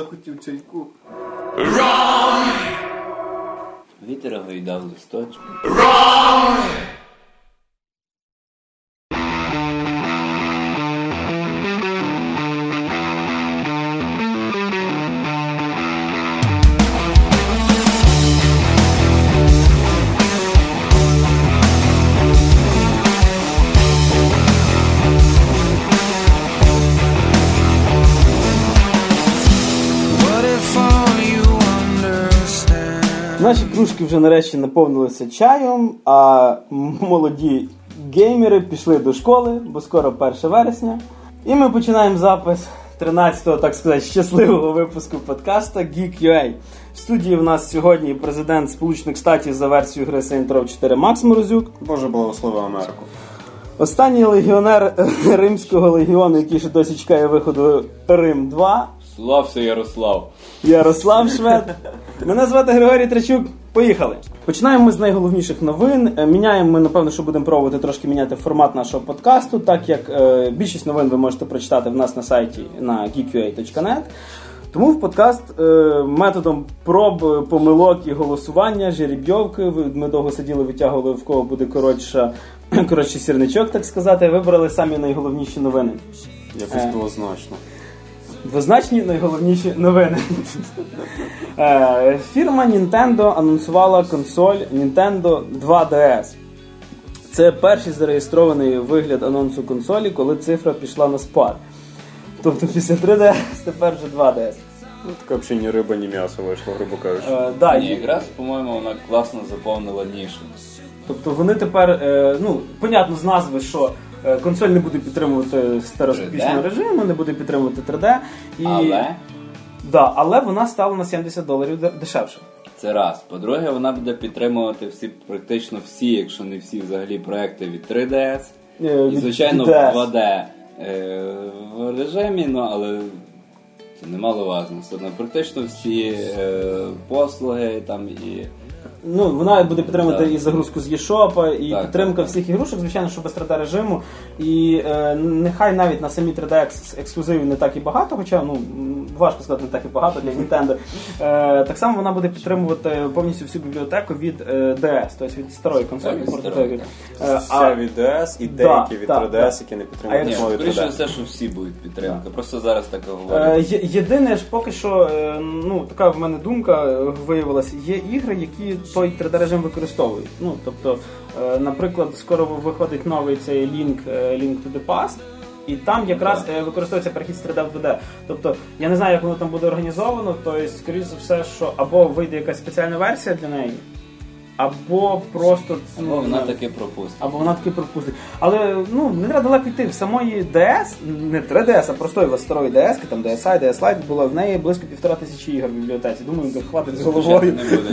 захотів чайку. Вітер гойдав листочки. Наші кружки вже нарешті наповнилися чаєм, а молоді геймери пішли до школи, бо скоро 1 вересня. І ми починаємо запис 13-го, так сказати, щасливого випуску подкаста Geek.ua. В студії в нас сьогодні президент Сполучених Штатів за версією гри Saints Row 4 Макс Морозюк. Боже благослови Америку. Останній легіонер Римського легіону, який ще досі чекає виходу Рим 2. Слався Ярослав. Ярослав Швед. Мене звати Григорій Трачук. Поїхали. Починаємо ми з найголовніших новин. Міняємо ми, напевно, що будемо пробувати трошки міняти формат нашого подкасту, так як більшість новин ви можете прочитати в нас на сайті на geekua.net. Тому в подкаст методом проб, помилок і голосування, жеребйовки, ми довго сиділи, витягували, в кого буде коротший сірничок, так сказати, вибрали самі найголовніші новини. Якось двозначно. Двозначні найголовніші новини. Фірма Nintendo анонсувала консоль Nintendo 2DS. Це перший зареєстрований вигляд анонсу консолі, коли цифра пішла на спад. Тобто після 3DS тепер вже 2DS. Ну, така взагалі ні риба, ні м'ясо вийшло, грубо кажучи. Ні, якраз, по-моєму, вона класно заповнила нішу. Тобто вони тепер, понятно з назви, що консоль не буде підтримувати стереоскопічний режим, не буде підтримувати 3D. Але вона стала на $70 дешевше. Це раз. По-друге, вона буде підтримувати практично всі, якщо не всі взагалі проекти від 3DS. І, звичайно, в 2D в режимі, але це немаловажно. Практично всі послуги там і... Вона буде підтримувати і загрузку з eShop, і підтримка всіх ігрушок, звичайно, що без 3D режиму. І нехай навіть на самі 3D ексклюзивів не так і багато, хоча, важко сказати, не так і багато для Nintendo. Так само вона буде підтримувати повністю всю бібліотеку від DS, тобто від старої консолі. Ще від DS і деякі від 3DS, які не підтримують нові 3D. Скоріше все, що всі будуть підтримувати. Просто зараз так говорять. Єдине ж поки що, така в мене думка виявилася, є ігри, які той 3D-режим використовують. Тобто, наприклад, скоро виходить новий цей Link to the Past, і там якраз використовується перехід з 3D в 2D. Тобто, я не знаю, як воно там буде організовано, тобто, скоріш за все, що або вийде якась спеціальна версія для неї, або просто... Або вона таки пропустить. Але, не треба далеко йти. В самої DS, не 3DS, а простої старої DS, там DSi, DS Lite, було в неї близько 1500 ігор в бібліотеці. Думаю, хватить з головою.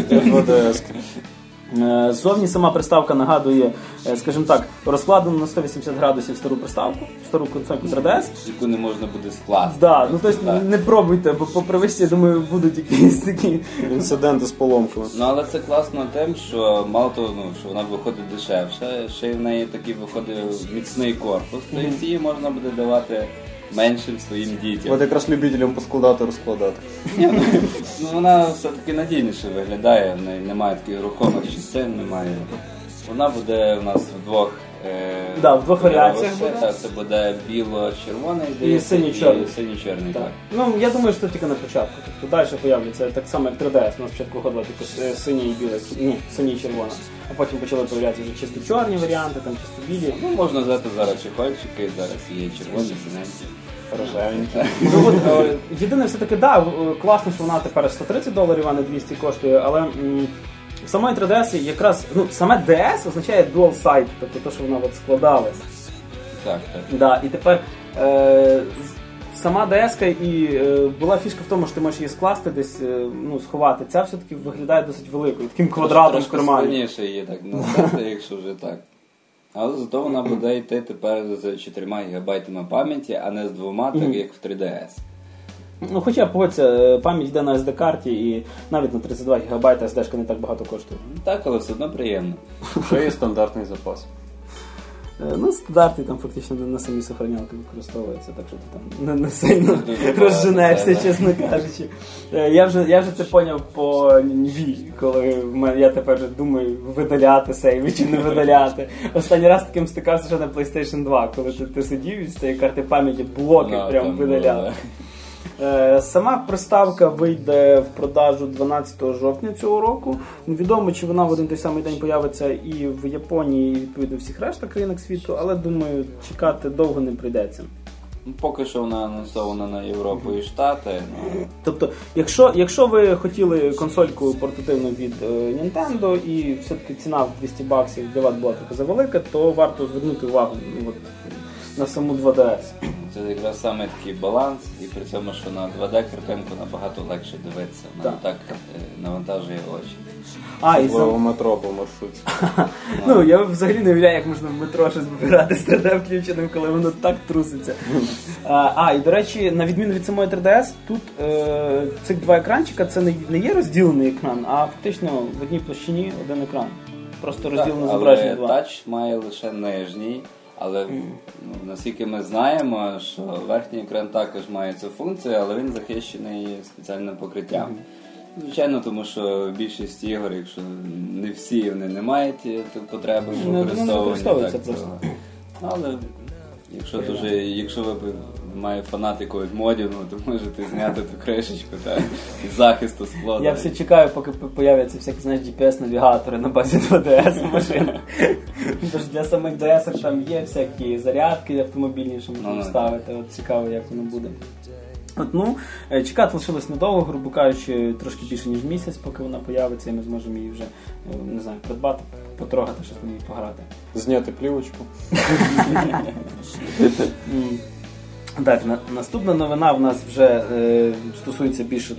Ззовні сама приставка нагадує, скажімо так, розкладену на 180 градусів стару приставку, стару консольку 3DS. Яку не можна буде скласти. Тобто не пробуйте, бо по привичці, я думаю, будуть якісь такі... інциденти з поломками. Але це класно тим, що мало того, що вона виходить дешевше, ще й в неї такий виходить міцний корпус, тобто її можна буде давати меншим своїм дітям. От якраз любителям поскладати, розкладати. Вона все-таки надійніше виглядає, в неї немає таких рухомих частин, немає. Вона буде у нас в двох варіаціях буде. Це буде біло-червоний і синьо-чорний. Синьо-чорний, так. Я думаю, що тільки на початку. Тобто далі появляться так само, як 3DS. У нас спочатку виходило тільки синє і біле, синє і червона. А потім почали появлятися вже чисто чорні варіанти, там чисто білі. Можна взяти зараз чехольчики, зараз є червоні, синенькі. Рожевенькі. Єдине, все-таки, класно, що вона тепер $130, а не 200 коштує, але в самої 3DS якраз, саме DS означає dual side, тобто те, що вона складалась. Так. І тепер сама DS-ка і була фішка в тому, що ти можеш її скласти десь, сховати. Ця все-таки виглядає досить великою, таким квадратом в кармані. Трошки складніше її так назвати, якщо вже так. Але зато вона буде йти тепер з 4 ГБ пам'яті, а не з 2, так як в 3DS. Хоча, погодься, пам'ять йде на SD-карті і навіть на 32 ГБ SD-шка не так багато коштує. Так, але все одно приємно. Що є стандартний запас. Стандарти там фактично на самі сохранялки використовуються, так що ти там не сильно розженешся, чесно кажучи. Я вже це поняв по Ніві, коли я тепер вже думаю, видаляти сейви чи не видаляти. Останній раз таким стикався ще на PlayStation 2, коли ти сидів і з цієї карти пам'яті блоки прям видаляв. Сама приставка вийде в продажу 12 жовтня цього року. Невідомо, чи вона в один той самий день появиться і в Японії, і відповідно в всіх решта країнах світу, але думаю, чекати довго не прийдеться. Поки що вона анонсована на Європу і Штати. Тобто, якщо ви хотіли консольку портативну від Nintendo і все-таки ціна в $200 для вас була трохи завелика, то варто звернути увагу на саму 2DS. Це якраз саме такий баланс, і при цьому, що на 2D картинку набагато легше дивитися, вона не так навантажує очі. В метро по маршруті. Я взагалі не уявляю, як можна в метро щось вибирати з 3D включеним, коли воно так труситься. І до речі, на відміну від самої 3DS, тут цих два екранчика, це не є розділений екран, а фактично в одній площині один екран. Просто розділено зображення два. Але тач має лише нижній. Але наскільки ми знаємо, що верхній екран також має цю функцію, але він захищений спеціальним покриттям. Звичайно, тому що більшість ігор, якщо не всі, вони не мають потреби в використовуванні. Але якщо ви маєте фанатику від модів, то можете зняти ту кришечку із захисту скла. Я все чекаю, поки появляться всякі, GPS-навігатори на базі 2DS машин. Тож для самих DS там є всякі зарядки автомобільні, що можна вставити. От цікаво, як воно буде. Чекати лишилось недовго, грубо кажучи, трошки більше, ніж місяць, поки вона появиться, і ми зможемо її вже, придбати, потрогати, щось на ній пограти. Зняти плівочку. Так, наступна новина в нас вже стосується більше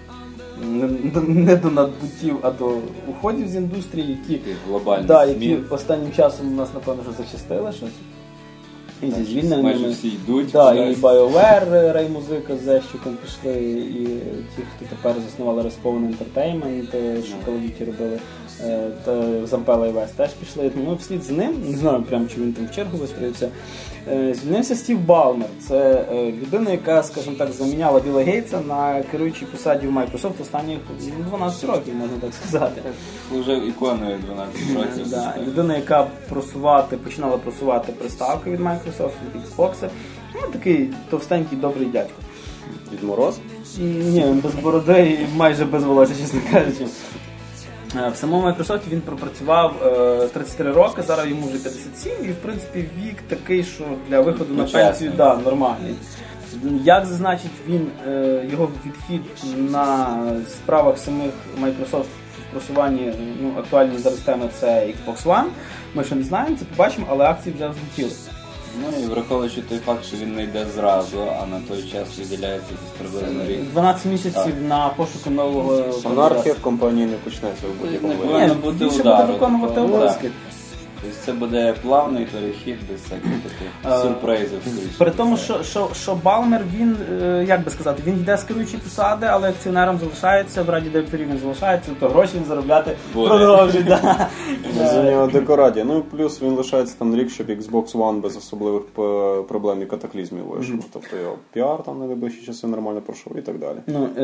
не до надбуттів, а до уходів з індустрії, які останнім часом у нас, напевно, вже зачастили щось. І зі звільненнями. Майже всі йдуть. І BioWare, Ray Muzika з Зещиком пішли, і ті, хто тепер заснували Respawn Entertainment, що Call of Duty робили, та Зампела і Вес теж пішли. Вслід за ним, не знаю прям, чи він там в чергу вистроївся, звільнився Стів Балмер. Це людина, яка, скажімо так, заміняла Білла Гейтса на керуючій посаді в Microsoft останніх 12 років, можна так сказати. Вже іконою 12 років. Людина, яка починала просувати приставки від Microsoft, від Xbox. Такий товстенький, добрий дядько. Дід Мороз? Ні, без бороди і майже без волосся, чесно кажучи. В самому Microsoft він пропрацював 33 роки, зараз йому вже 57, і в принципі вік такий, що для виходу на пенсію нормальний. Як зазначить він, його відхід на справах самих Microsoft в просуванні актуальної зараз теми це Xbox One, ми ще не знаємо, це побачимо, але акції вже взлетіли. І враховуючи той факт, що він не йде зразу, а на той час виділяється приблизно рік. 12 місяців на пошуку нового... Анархія в компанії не почнеться в будь-якому випадку. Не буде буде виконувати обов'язки. Тобто це буде плавний перехід без всяких таких сюрпризів. При тому, що Балмер, він, як би сказати, він йде з керуючої посади, але акціонером залишається, в раді директорів він залишається, то гроші він заробляти продовжує. За нього декоратія. Плюс він лишається там рік, щоб Xbox One без особливих проблем і катаклізмів вийшов. Тобто його піар там на найближчі часи нормально пройшов і так далі.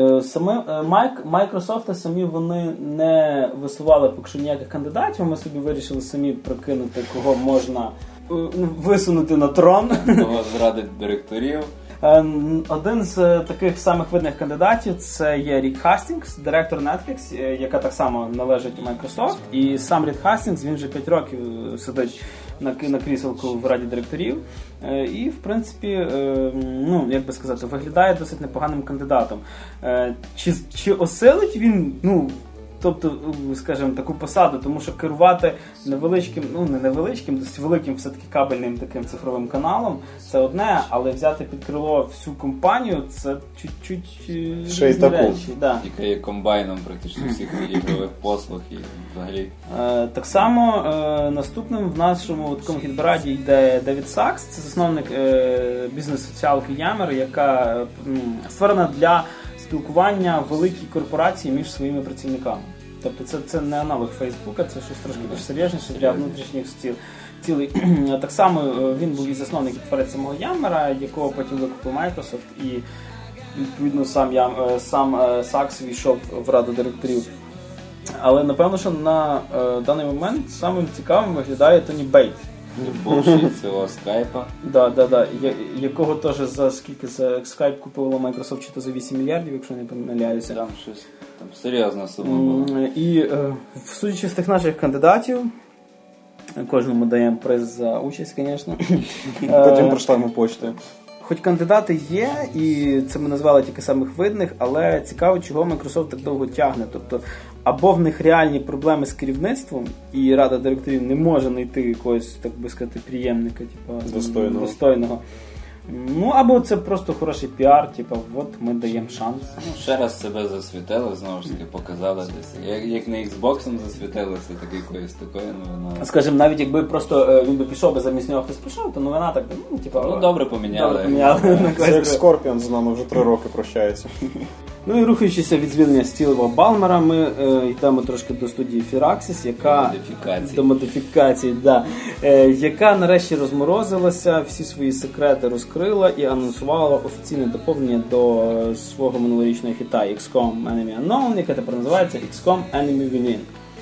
Microsoft самі вони не висували поки що ніяких кандидатів, ми собі вирішили самі прокинути, кого можна висунути на трон. Кого зрадить директорів. Один з таких самих видних кандидатів це є Рік Хастінгс, директор Netflix, яка так само належить Microsoft. І сам Рік Хастінгс, він вже 5 років сидить на кріселку в раді директорів. І, в принципі, як би сказати, виглядає досить непоганим кандидатом. Чи осилить він, тобто, скажімо, таку посаду, тому що керувати невеличким, не невеличким, досить великим все-таки кабельним таким цифровим каналом, це одне, але взяти під крило всю компанію, це чуть-чуть різні речі. Яка є комбайном практично всіх ігрових послуг і взагалі. Так само наступним в нашому такому хіт-параді йде Девід Сакс, це засновник бізнес-соціалки Yammer, яка створена для спілкування великій корпорації між своїми працівниками. Тобто це не аналог Фейсбука, це щось трошки більш серйозніше для внутрішніх стіл. цілий. Так само він був і засновник творець самого Yammer, якого потім викупив Microsoft, і відповідно сам Сакс війшов в раду директорів. Але напевно, що на даний момент самим цікавим виглядає Тоні Бейт. Бувший цього скайпа. Да. Якого теж за скільки скайп купило Microsoft, чи то за 8 мільярдів, якщо не помиляюся. Там щось, там серйозна сума була. І судячи з тих наших кандидатів, кожному даємо приз за участь, звісно. Потім прочитаємо почту. Хоч кандидати є, і це ми назвали тільки самих видних, але цікаво, чого Microsoft так довго тягне. Тобто, або в них реальні проблеми з керівництвом, і рада директорів не може знайти якогось, так би сказати, приємника, типу, достойного. Ну, або це просто хороший піар, типу, от ми даємо шанс. Ну, ще раз себе засвітили, знову ж таки, показали десь. Як не Xbox'ом засвітилися, так якоюсь такою новиною. Скажімо, навіть якби просто він би пішов, би замість нього хтось пішов, то новина так, ну, типу... Ну, добре поміняли. Це як Скорпіон з нами вже 3 роки прощається. Ну і рухаючися від звільнення Стілова Балмера, ми йдемо трошки до студії Firaxis, яка... До модифікації, да. Яка нарешті розморозилася, всі свої секрети розкрила і анонсувала офіційне доповнення до свого минулорічного хіта XCOM Enemy Unknown, яке тепер називається XCOM Enemy Within.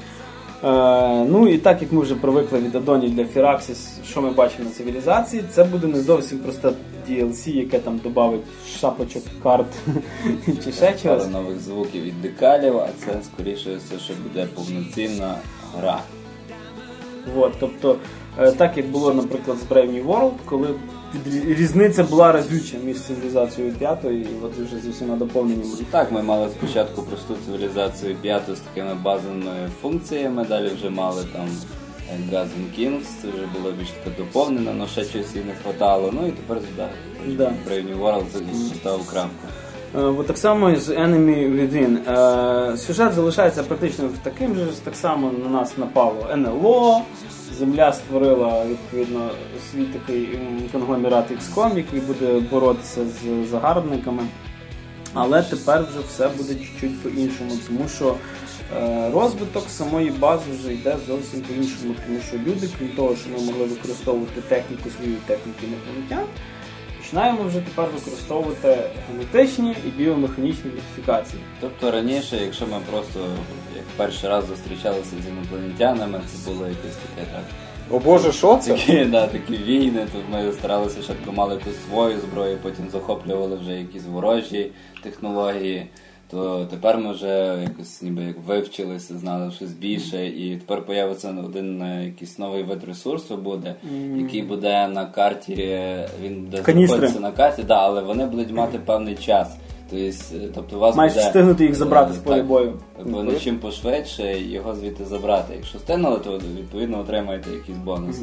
Ну і так як ми вже привикли від аддонів для Firaxis, що ми бачимо на цивілізації, це буде не зовсім просто DLC, яке там додавить шапочок, карт чи ще чогось. Пару нових звуків від декалів, а це скоріше все, що буде повноцінна гра. Вот, тобто, так як було, наприклад, з Brave New World, коли різниця була разюча між цивілізацією 5 і от вже з усіма доповненнями. Так, ми мали спочатку просту цивілізацію 5 з такими базовими функціями, далі вже мали там Guns Kings, це вже було більш таке доповнено, але ще чогось їй не хватало. Ну і тепер Brave New World поставив крапку. От так само і з Enemy Within. Сюжет залишається практично таким же, так само на нас напало НЛО, Земля створила, відповідно, свій такий конгломерат XCOM, який буде боротися з загарбниками. Але тепер вже все буде чуть-чуть по-іншому, тому що розвиток самої бази вже йде зовсім по-іншому, тому що люди, крім того, що ми могли використовувати техніку свою техніки інопланетян, починаємо вже тепер використовувати генетичні і біомеханічні модифікації. Тобто раніше, якщо ми просто як перший раз зустрічалися з інопланетянами, це було якесь таке так. О Боже, що це? Такі війни, тут ми старалися спочатку мали якусь свою зброю, потім захоплювали вже якісь ворожі технології. То тепер ми вже якось ніби як вивчилися, знали щось більше, і тепер появиться один якийсь новий вид ресурсу буде, який буде на карті, він буде знаходитися на карті, да, але вони будуть мати певний час. Тобто у вас маєш буде встигнути їх забрати з поля бою. Вони чим пошвидше його звідти забрати. Якщо встигнули, то відповідно отримаєте якісь бонуси.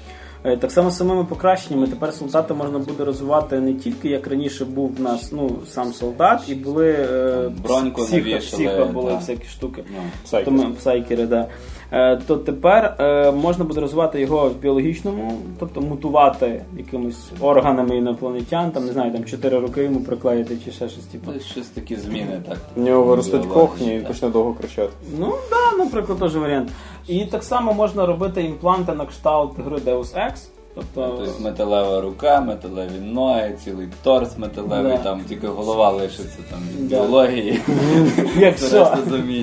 Так само з самими покращеннями. Тепер солдата можна буде розвивати не тільки, як раніше був в нас сам солдат, і були броньку психо були всякі штуки. Псайкери, да. То тепер можна буде розвивати його в біологічному, тобто мутувати якимось органами інопланетян, там, не знаю, там 4 роки йому приклеїти чи ще щось типу. Щось такі зміни, так. В нього виростуть кохні і почне довго кричати. Ну, так, наприклад, теж варіант. І так само можна робити імпланти на кшталт гри Deus Ex. Тобто металева рука, металеві ноги, цілий торс металевий, там тільки голова лишиться там від біології. Як що?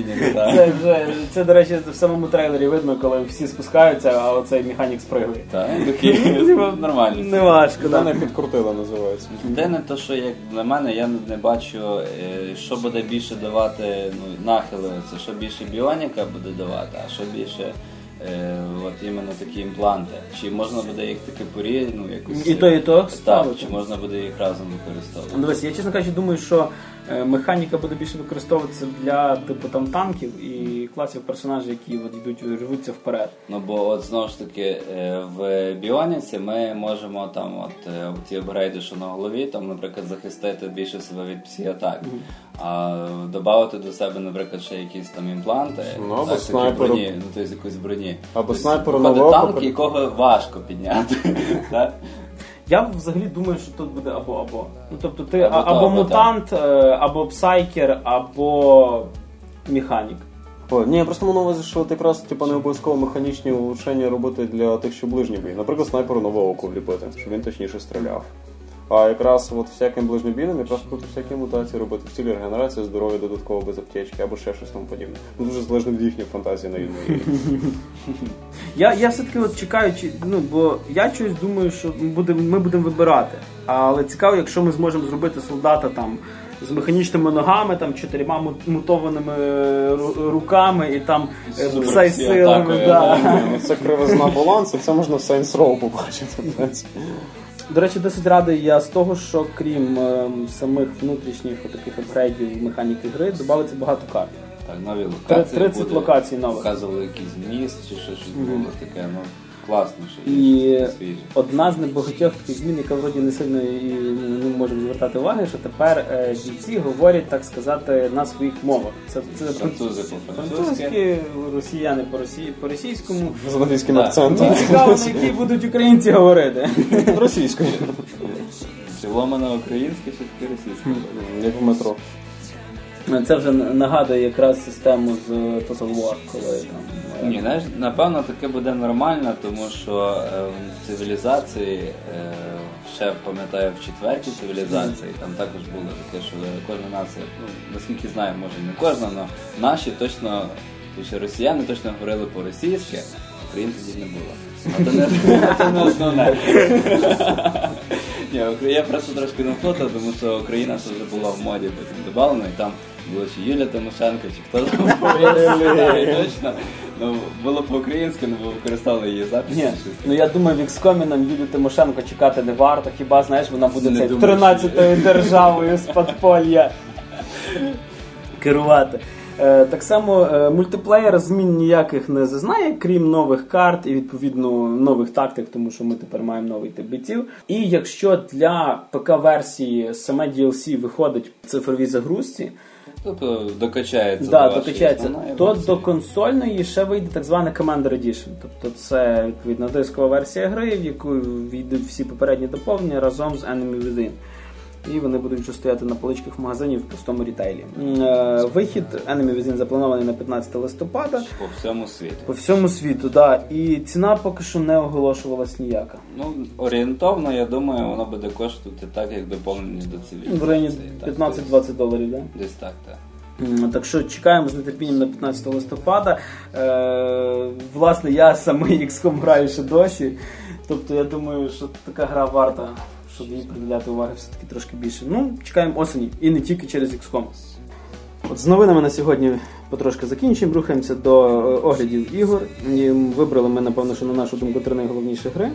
Це, до речі, в самому трейлері видно, коли всі спускаються, а оцей механік спригує. Так, такий нормальний. Не важко, так. Мене підкрутила, називається. Єдине те, що як для мене, я не бачу, що буде більше давати нахили, це що більше біоніка буде давати, а що більше от іменно такі імпланти. Чи можна буде їх таки якось... І то ставити, чи можна буде їх разом використовувати? Дивись, я, чесно кажучи, думаю, що механіка буде більше використовуватися для типу там танків і класів персонажів, які от йдуть, рвуться вперед. Ну, бо от знову ж таки в біоніці ми можемо там ті апгрейди, що на голові, там, наприклад, захистити більше себе від псі-атак. А додати до себе, наприклад, ще якісь там імпланти, або снайперу, тобто якусь броні. Або снайперу нового танк, якого важко підняти. Я взагалі думаю, що тут буде або-або. Ну, тобто ти або мутант, або псайкер, або механік. Ні, я просто мав на увазі, що от якраз не обов'язково механічні улучшення робити для тих, що ближній бій. Наприклад, снайперу нове око вліпити, щоб він точніше стріляв. А якраз от всяким ближньобійним якраз будуть всякі мутації робити в цілі регенерації, здоров'я додатково без аптечки або ще щось тому подібне. Дуже залежно від їхньої фантазії на відмірі. Я все-таки от чекаю, бо я чогось думаю, що ми будемо вибирати. Але цікаво, якщо ми зможемо зробити солдата там з механічними ногами, там 4 мутованими руками і там псай-силами. Це кривизна балансу, це можна в Saints Row побачити. До речі, досить радий я з того, що крім самих внутрішніх таких апгрейдів механіки гри, додається багато карт. Так, нові локації. 30 локацій нових. Показували якийсь міст чи щось було таке, класно. І одна з небагатьох таких змін, яка вроді не сильно і не можемо звертати уваги, що тепер бійці говорять, так сказати, на своїх мовах. Це французи по-французьки, росіяни по-російському. З англійським акцентом. Цікаво, на які будуть українці говорити. Російською. Чи ломана українська, чи таки російська? Як в метро. Це вже нагадує якраз систему з Total War, коли там... Ні, знаєш, напевно, таке буде нормально, тому що в цивілізації, ще пам'ятаю, в 4-й цивілізації, там також було таке, що кожна нація, наскільки знаю, може не кожна, але наші точно, росіяни точно говорили по-російськи, українців не було. Це не основне. Ні, я просто трошки наплутав, тому що Україна це вже була в моді потім добавлено, і там було чи Юлія Тимошенко, чи хто там точно. Було по-українськи, але використали її записи. Ні, я думаю, в XCOM нам Юлію Тимошенко чекати не варто, хіба, знаєш, вона буде 13-ю державою з подполья керувати. Так само мультиплеєр змін ніяких не зазнає, крім нових карт і, відповідно, нових тактик, тому що ми тепер маємо новий тип бійців. І якщо для ПК-версії саме DLC виходить в цифровій загрузці, тобто докачається, то до консольної ще вийде так званий Commander Edition. Тобто це, відповідно, дискова версія гри, в яку війдуть всі попередні доповнення разом з Enemy Within. І вони будуть вже стояти на поличках магазинів в простому рітейлі. Вихід Enemy Within запланований на 15 листопада. По всьому світу. По всьому світу, так. Да. І ціна поки що не оголошувалась ніяка. Орієнтовно, я думаю, воно буде коштувати так, як доповнення до цивілізації. В районі $15-20, так? Да? Десь так, так. Так що чекаємо з нетерпінням на 15 листопада. Власне, я самий XCOM граю ще досі. Тобто я думаю, що така гра варта, щоб їй приділяти уваги все-таки трошки більше. Чекаємо осені. І не тільки через XCOM. От з новинами на сьогодні потрошки закінчуємо. Рухаємося до оглядів ігор. І вибрали ми, напевно, що на нашу думку 3 найголовніші гри.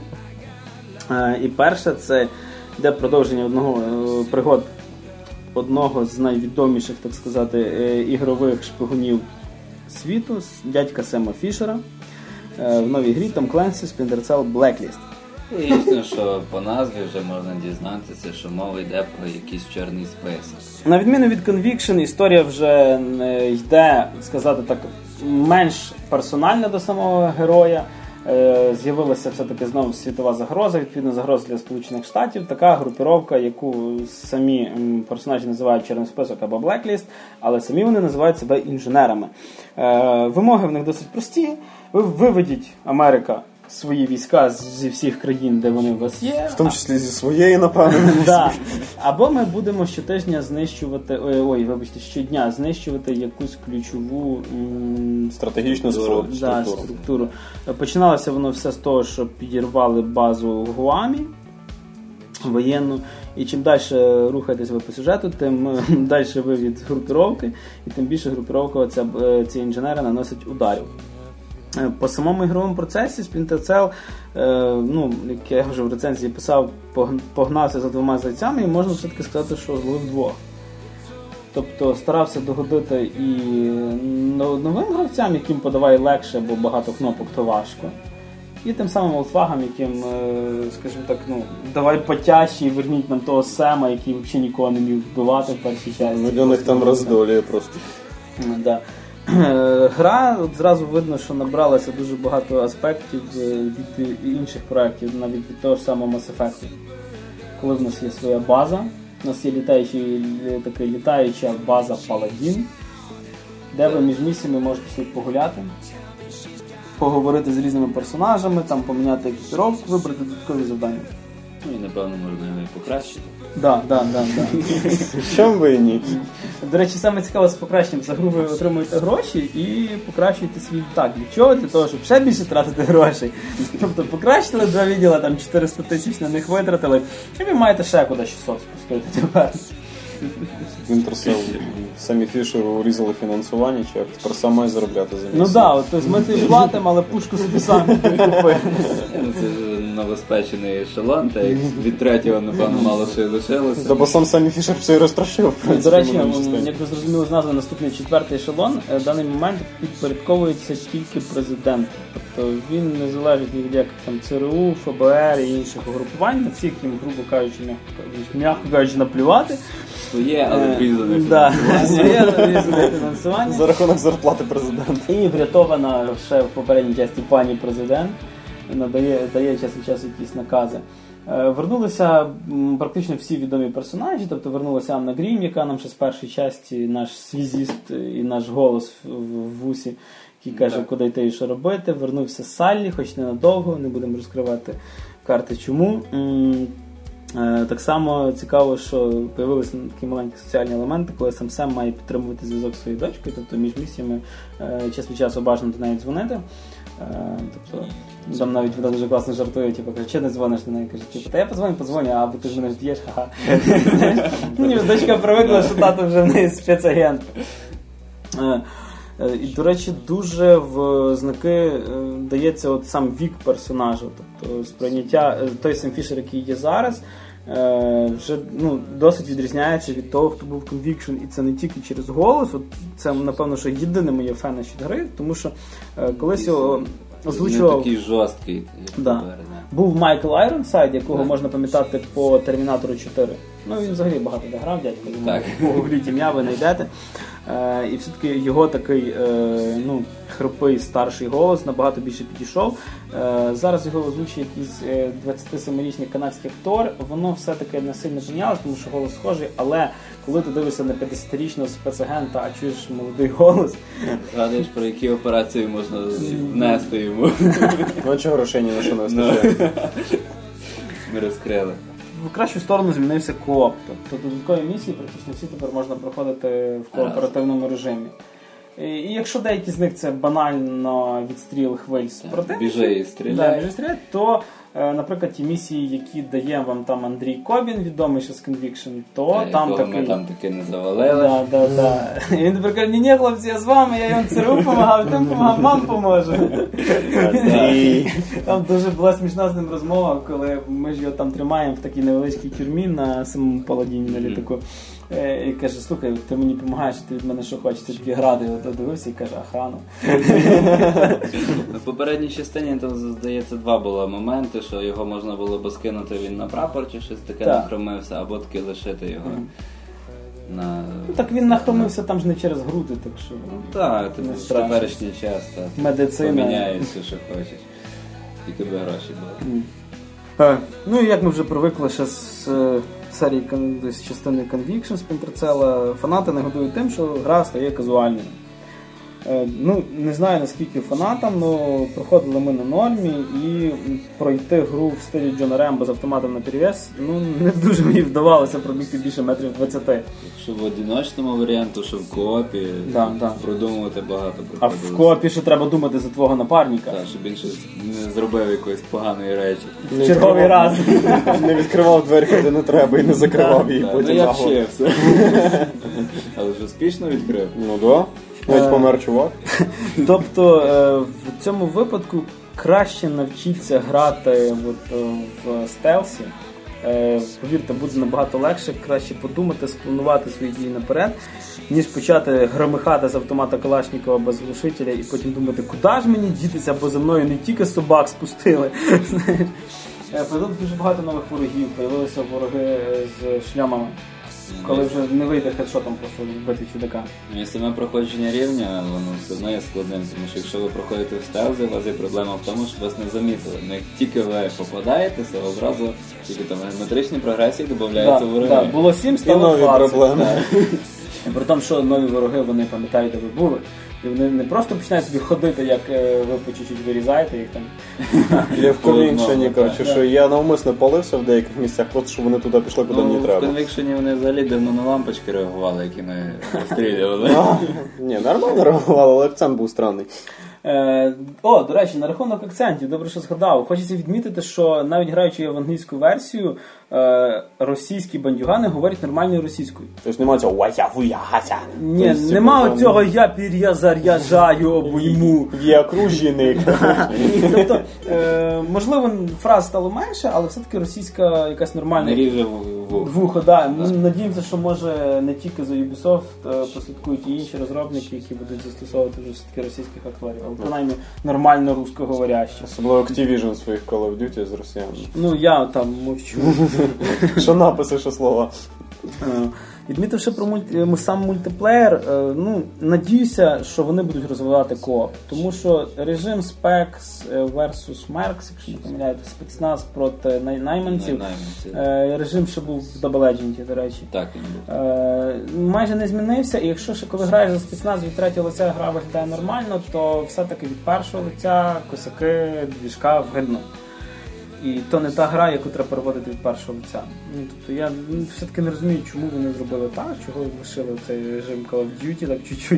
І перше, це йде продовження пригод одного з найвідоміших, так сказати, ігрових шпигунів світу, дядька Сема Фішера. В новій грі Tom Clancy Splinter Cell Blacklist. І ясно, що по назві вже можна дізнатися, що мова йде про якийсь чорний список. На відміну від Conviction, історія вже йде, сказати так, менш персональна до самого героя. З'явилася все-таки знову світова загроза, відповідно загроза для Сполучених Штатів. Така групіровка, яку самі персонажі називають чорний список або Blacklist, але самі вони називають себе інженерами. Вимоги в них досить прості. Ви виведіть, Америка, свої війська зі всіх країн, де вони у вас є. В тому числі зі своєї, напевно. Да. Або ми будемо щотижня знищувати, щодня знищувати якусь ключову стратегічну структуру. Починалося воно все з того, що підірвали базу в Гуамі воєнну. І чим далі рухаєтесь ви по сюжету, тим далі ви від групіровки, і тим більше групіровка ці інженери наносять ударів. По самому ігровому процесі Splinter Cell, як я вже в рецензії писав, погнався за 2 зайцями, і можна все-таки сказати, що зловив 2. Тобто старався догодити і новим гравцям, яким подавай легше, бо багато кнопок, то важко. І тим самим олдфагам, яким, скажімо так, давай потяжче і верніть нам того Сема, який взагалі нікого не міг вбивати в першій часті. Для них там роздолює просто. Да. Гра, зразу видно, що набралася дуже багато аспектів від інших проєктів, навіть від того ж самого Mass Effect. Коли в нас є своя база, у нас є літаюча база Паладін, де ви між місіями можете собі погуляти, поговорити з різними персонажами, там поміняти екіпіровку, вибрати додаткові завдання. Ну і напевно можна його і покращити. Да. Чому ви і ні? До речі, саме цікаве з покращенням. За гру ви отримуєте гроші і покращуєте свій літак. Для чого? Для того, щоб ще більше тратити грошей. Тобто покращили 2 відділа, там 400 тисяч на них витратили, і ви маєте ще куди 600 спустити тепер. Winter Cell самі Фішеру урізали фінансування, чи як тепер сам має заробляти за місяць? Ну так, тобто ми тобі платимо, але пушку собі самі купили. Це новоспечений ешелон, та як від 3-го, напевно, мало що й лишилося. Та бо сам Фішер все і розтрощив. До речі, як ви зрозуміли з назви, наступний 4-й ешелон в даний момент підпорядковується тільки президенту. Тобто він не залежить ні від яких там ЦРУ, ФБР і інших угрупувань, на всіх їм, грубо кажучи, м'яко кажучи, наплювати. Своє, але врізане фінансування. За рахунок зарплати президента. І врятована ще в попередній часті пані президент, дає час від часу якісь накази. Вернулися практично всі відомі персонажі, тобто вернулася Анна Грім, яка нам ще з першої часті наш связіст і наш голос в вусі, який каже, куди йти і що робити. Вернувся Саллі, хоч ненадовго, не будемо розкривати карти чому. Так само цікаво, що з'явилися такі маленькі соціальні елементи, коли сам має підтримувати зв'язок зі своєю дочкою, тобто між місіями час від часу бажано до неї дзвонити. Тобто, там навіть вона дуже класно жартує, типу, каже, чи не дзвониш до неї? Каже, типу, та я подзвоню, а бо ти ж мене ж б'єш, ха-ха. Дочка привикла, що тато вже в неї спецагент. І, до речі, дуже в знаки дається от сам вік персонажа, тобто сприйняття, той Сем Фішер, який є зараз, вже досить відрізняється від того, хто був Conviction, і це не тільки через голос, от це, напевно, що єдине моє фене від гри, тому що колись його озвучував... Не такий жорсткий. Був Майкл Айронсайд, якого можна пам'ятати по Термінатору 4. Ну, він взагалі багато де грав, дядько, погугліть ім'я, ви знайдете. І все-таки його такий хрипий старший голос набагато більше підійшов. Зараз його озвучує якийсь 27-річний канадський актор. Воно все-таки не сильно помінялось, тому що голос схожий, але коли ти дивишся на 50-річного спецагента, а чуєш молодий голос... Згадуєш, про які операції можна внести йому. Ну, чого грошей ні на що не вистачає? Ми розкрили. В кращу сторону змінився кооп. Тобто додаткові місії практично всі тепер можна проходити в кооперативному режимі. І якщо деякі з них це банально відстріл хвиль супротивників, біжи і стріляй, то, наприклад, ті місії, які дає вам там Андрій Кобін, відомий ще з Conviction, то там такий... Ми там таки не завалили. І він тепер каже, ні, хлопці, я з вами, я йому ЦРУ допомагав, тим допомагав, вам поможу. Там дуже була смішна з ним розмова, коли ми ж його там тримаємо в такій невеличкій тюрмі на самому Паладіні на літаку. І каже, слухай, ти мені допомагаєш, ти від мене що хочеш, ти такі гради, дивився і каже, охрану. В попередній частині, там, здається, 2 було моменти, що його можна було б скинути, він на прапор чи щось таке нахромився, або таки лишити його на... Так він нахромився там ж не через груди, так що... Так, в теперішній час медицина. Поміняється, що хочеш. Тільки би гроші були. Ну і як ми вже привикли ще з серії з частини Conviction, Splinter Cell, фанати нагодують тим, що гра стає казуальною. Не знаю наскільки фанатам, але проходили ми на нормі і пройти гру в стилі Джона Рембо з автоматом на перевес, не дуже мені вдавалося пробігти більше метрів 20. Якщо в одиночному варіанті, що в коопі, продумувати багато. А в коопі ще треба думати за твого напарника. Так, щоб він щось не зробив якоїсь поганої речі. В черговий раз. Не відкривав двері, куди не треба, і не закривав її потім нагло. Але ж успішно відкрив. Ну да. Навіть помер чувак. Тобто в цьому випадку краще навчитися грати в стелсі. Повірте, буде набагато легше, краще подумати, спланувати свої дії наперед, ніж почати громихати з автомата Калашникова без глушителя і потім думати, куди ж мені дітися, бо за мною не тільки собак спустили. Появилося дуже багато нових ворогів, появилися вороги з шльомами. Коли вже не вийде хедшотом просто вбити чудака. І саме проходження рівня, воно все одно є складним, тому що якщо ви проходите в стелзі, у вас є проблема в тому, що вас не замітили. Як тільки ви попадаєтеся, одразу тільки там геометричні прогресії додаються вороги. Так, було 7, стало 20. Проблеми. При тому, що нові вороги, вони пам'ятають, де ви були. І вони не просто починають собі ходити, як ви по чуть-чуть вирізаєте їх там. Я в Conviction, коротше, що я навмисно палився в деяких місцях, просто щоб вони туди пішли, куди мені треба. В Conviction вони взагалі давно на лампочки реагували, які ми розстрілювали. Ні, нормально реагували, але акцент був странний. До речі, на рахунок акцентів, добре, що згадав. Хочеться відмітити, що навіть граючи в англійську версію, російські бандюгани говорять нормальною російською. Тобто немає цього «вая-вуя-гася». Ні, нема цього «я перезаряджаю обойму». Є окружений. Тобто, можливо, фраз стало менше, але все-таки російська якась нормальна. Не ріже вухо, да. Ми надіємося, що може не тільки за Ubisoft послідкують і інші розробники, які будуть застосовувати вже все-таки російських акторів, але принаймні нормально русскоговорящих. Особливо Activision своїх Call of Duty з росіянами. Ну, я там мовчу. Що написи, що слова. Відмітивши про сам мультиплеєр, надіюся, що вони будуть розвивати кооп. Тому що режим Specs versus Mercs, якщо не помиляєте, спецназ проти найманців, режим, що був в Double Agent, до речі, так, майже не змінився. І якщо ще коли граєш за спецназ від третього лиця, гра виглядає нормально, то все-таки від першого лиця косяки, двіжка вгидно. І то не та гра, яку треба переводити від першого лиця. Тобто я все-таки не розумію, чому вони зробили так, чого лишили цей режим Call of Duty так чуть-чуть.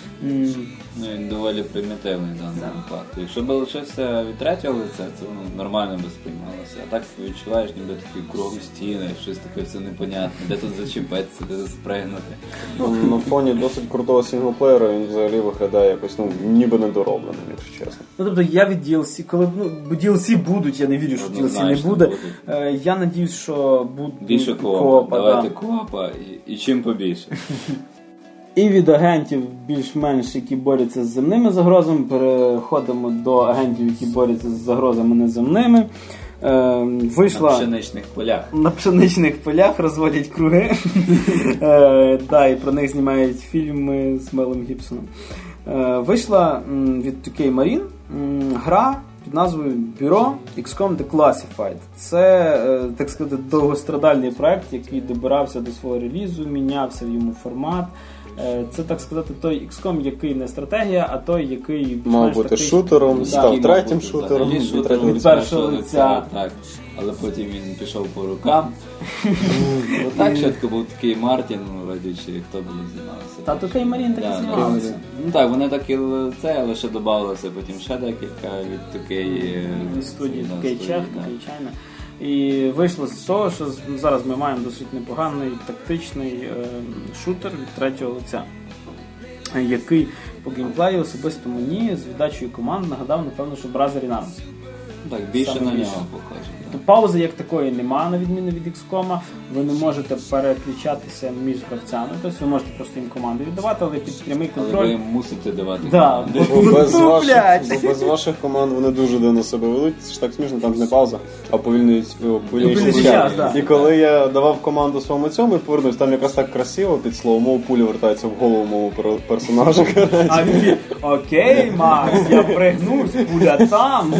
Він доволі примітивний в даному випадку. Якщо б лишився від третього лиця, це нормально би сприймалося. А так відчуваєш, ніби такі кругом стіни, щось таке все непонятне, де тут зачепитися, де спригнути. На фоні досить крутого синглплеєра він взагалі виглядає якось, ніби недоробленим, якщо чесно. Тобто я від DLC, коли DLC будуть, я не вірю, що DLC не буде. Я надіюсь, що буде більше коопа. Давайте коопа і чим побільше. І від агентів більш-менш, які борються з земними загрозами, переходимо до агентів, які борються з загрозами неземними. Вийшла... На пшеничних полях. На пшеничних полях розводять круги. І про них знімають фільми з Мелом Гібсоном. Вийшла від 2K Marine гра під назвою Bureau XCOM Declassified. Це, так сказати, довгострадальний проект, який добирався до свого релізу, мінявся в йому формат. Це, так сказати, той XCOM, який не стратегія, а той, який... Мав бути шутером, став третім шутером. Від першого лиця. Так, але потім він пішов по рукам. Так швидко був такий Мартін, радючи, хто буде знімався. Та такий Марін так і знімався. Ну так, вони так і це, але ще додавалося потім ще декілька від такої... студії, такий Чех, такий Чайна. І вийшло з того, що зараз ми маємо досить непоганий тактичний шутер від третього лиця, який по геймплею особисто мені з віддачею команд нагадав, напевно, що Brother's Arms. Так, більше на нього похоже. Тобто паузи як такої немає, на відміну від XCOM. Ви не можете переключатися між гравцями, тобто ви можете просто їм команди віддавати, але під прямий контроль. Але ви мусите давати команди. Без ваших команд вони дуже дивно себе ведуть. Це ж так смішно, там ж не пауза, а повільніший час. І коли я давав команду своєму цьому і повернусь, там якраз так красиво під словом пуля вертається в голову мого персонажа. А він окей, Макс, я пригнусь, пуля там.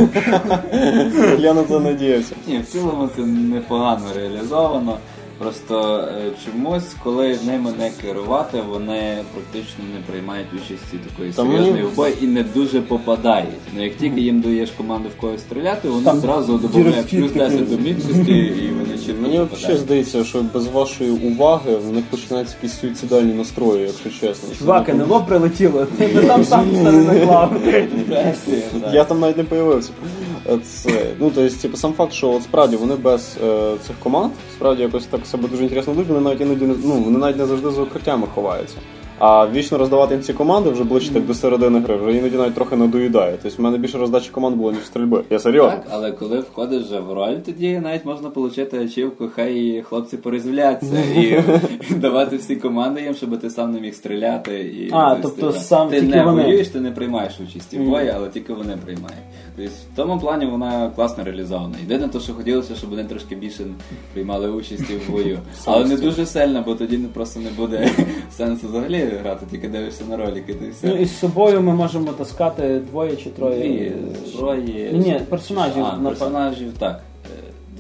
Я на це надіявся. Ні, в цілому це непогано реалізовано. Просто чомусь, коли ними не керувати, вони практично не приймають участі такої серйозної в бої і не дуже попадають. Ну як тільки їм даєш команду в когось стріляти, вони одразу додають плюс 10 до міткості і вони чітко Мені попадають. взагалі здається, що без вашої уваги в них починаються якісь суїцидальні настрої, якщо чесно. Чувак, НЛО прилетіло, ти там сам не наклав. Я там навіть не появився. Тобто, сам факт, що от справді вони без цих команд, справді якось так себе дуже інтересно ведуть, вони навіть іноді вони навіть не завжди за укриттями ховаються. А вічно роздавати їм ці команди вже ближче так до середини гри, вже іноді навіть трохи надоїдає. Тобто в мене більше роздачі команд було, ніж стрільби. Я серйозно. Так, але коли входиш вже в роль, тоді навіть можна отримати ачівку, хай хлопці порізвляться і давати всі команди їм, щоб ти сам не міг стріляти. Тобто сам ти тільки не вони. воюєш, ти не приймаєш участі в бої, але тільки вони приймають. Тобто в тому плані вона класно реалізована. Єдине те, що хотілося, щоб вони трошки більше приймали участі в бою. Але не дуже сильно, бо тоді просто не буде сенсу взагалі грати, тільки дивишся на ролики. І з собою ми можемо таскати 2 чи 3. Троє. Ні, персонажів. Персонажів, так. 2.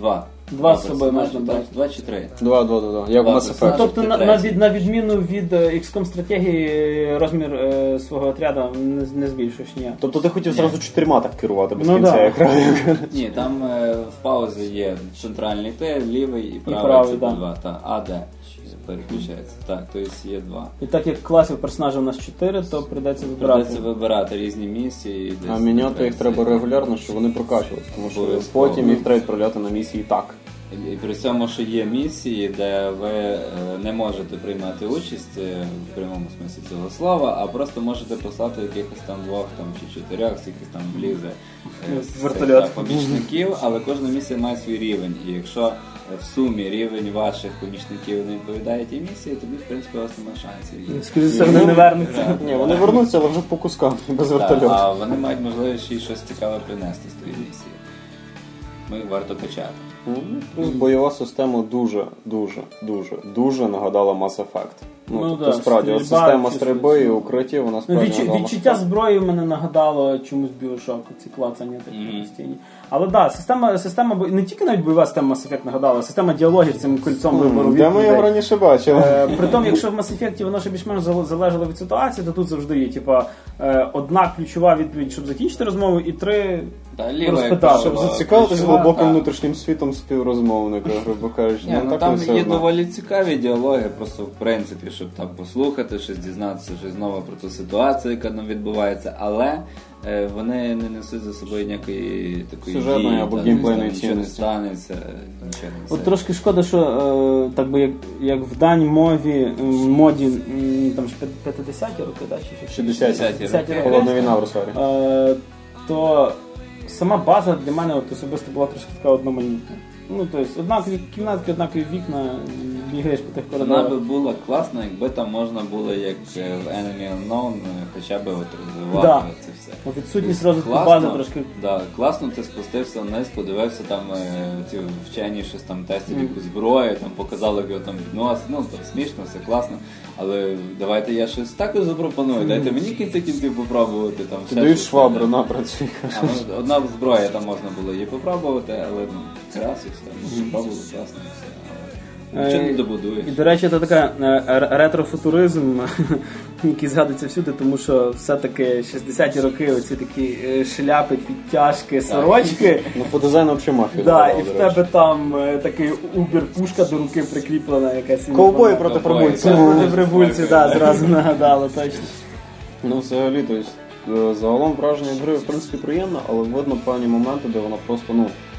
Два з собою можна брати. 2 чи 3? 2. Як в Mass Effect. Тобто, на відміну від XCOM стратегії, розмір свого отряду не збільшуєш, ні. Тобто ти хотів зразу 4 так керувати без кінця екрану? Ні, там в паузі є центральний Т, лівий і правий, це 2. А, Д переключається. Так, то є 2. І так як класів персонажів у нас 4, то прийдеться вибирати різні місії. А міняти їх треба регулярно, щоб вони прокачувалися, тому що потім їх треба відправляти на місії так. І при цьому, що є місії, де ви не можете приймати участь в прямому смислі цього слова, а просто можете послати якихось там 2 чи 4, скільки там влізе вертольот помічників, але кожна місія має свій рівень. І якщо в сумі рівень ваших помічників не відповідає тій місії, тоді, в принципі, у вас немає шансів. Скоріше, вони не вернуться. Ні, вони вернуться, але вже по кускам, без вертольоту. А вони мають можливість ще й щось цікаве принести з тої місії. Ми варто качати. Плюс бойова система дуже нагадала Mass Effect. Тобто, справді, система стрільби і укриттів, вона справді нагадала. Відчуття зброї мене нагадало чомусь Bioshock, ці клацання такі постійні. Але так, система не тільки навіть бойова система Mass Effect нагадала, система діалогів цим кольцом вибору відповідей. Де ми його раніше бачили? Притом, якщо в Mass Effect воно ще більш-менш залежало від ситуації, то тут завжди є, одна ключова відповідь, щоб закінчити розмову, і 3 розпитали. Щоб зацікавитися глибоким внутрішнім світом співрозмовника, грубо кажучи. Там є доволі цікаві діалоги, просто в принципі, щоб там послухати, щось дізнатися, щось нове про ту ситуацію, яка там відбувається, але вони не несуть за собою ніякої такої сюжетної або геймплейної цінності. Нічого не станеться, нічого не все. От трошки шкода, що так би як в даній моді там 50-ті роки, чи 60-ті роки. Холодна війна в Росарі. То сама база для мене особисто була трошки така одноманітна. Тобто, однакові кімнатки, однакові вікна, бігаєш по тих коридорах. Вона би була класна, якби там можна було, як в Enemy Unknown, хоча б розвивати це все. Відсутність розвитку бази трошки. Да, класно ти спустився вниз, подивився там ці вчені щось там тестять якусь зброю, там показали, як його там відносить, там смішно, все класно. Але давайте я щось також запропоную, дайте мені кінців попробувати. Ти даєш швабру, напрацюй. Одна зброя там можна було її попробувати, але раз і все, попробували, класно і все. Нічого не добудуєш. І, до речі, це така ретрофутуризм, який згадується всюди, тому що все-таки 60-ті роки оці такі шляпи, підтяжки, сорочки. По дизайну взагалі мафія. Так, і в тебе там такий убер-пушка до руки прикріплена якась. Ковбої проти прибульців. Проти прибульців, так, зразу нагадало, точно. Взагалі, тобто, загалом враження гри, в принципі, приємно, але видно певні моменти, де вона просто,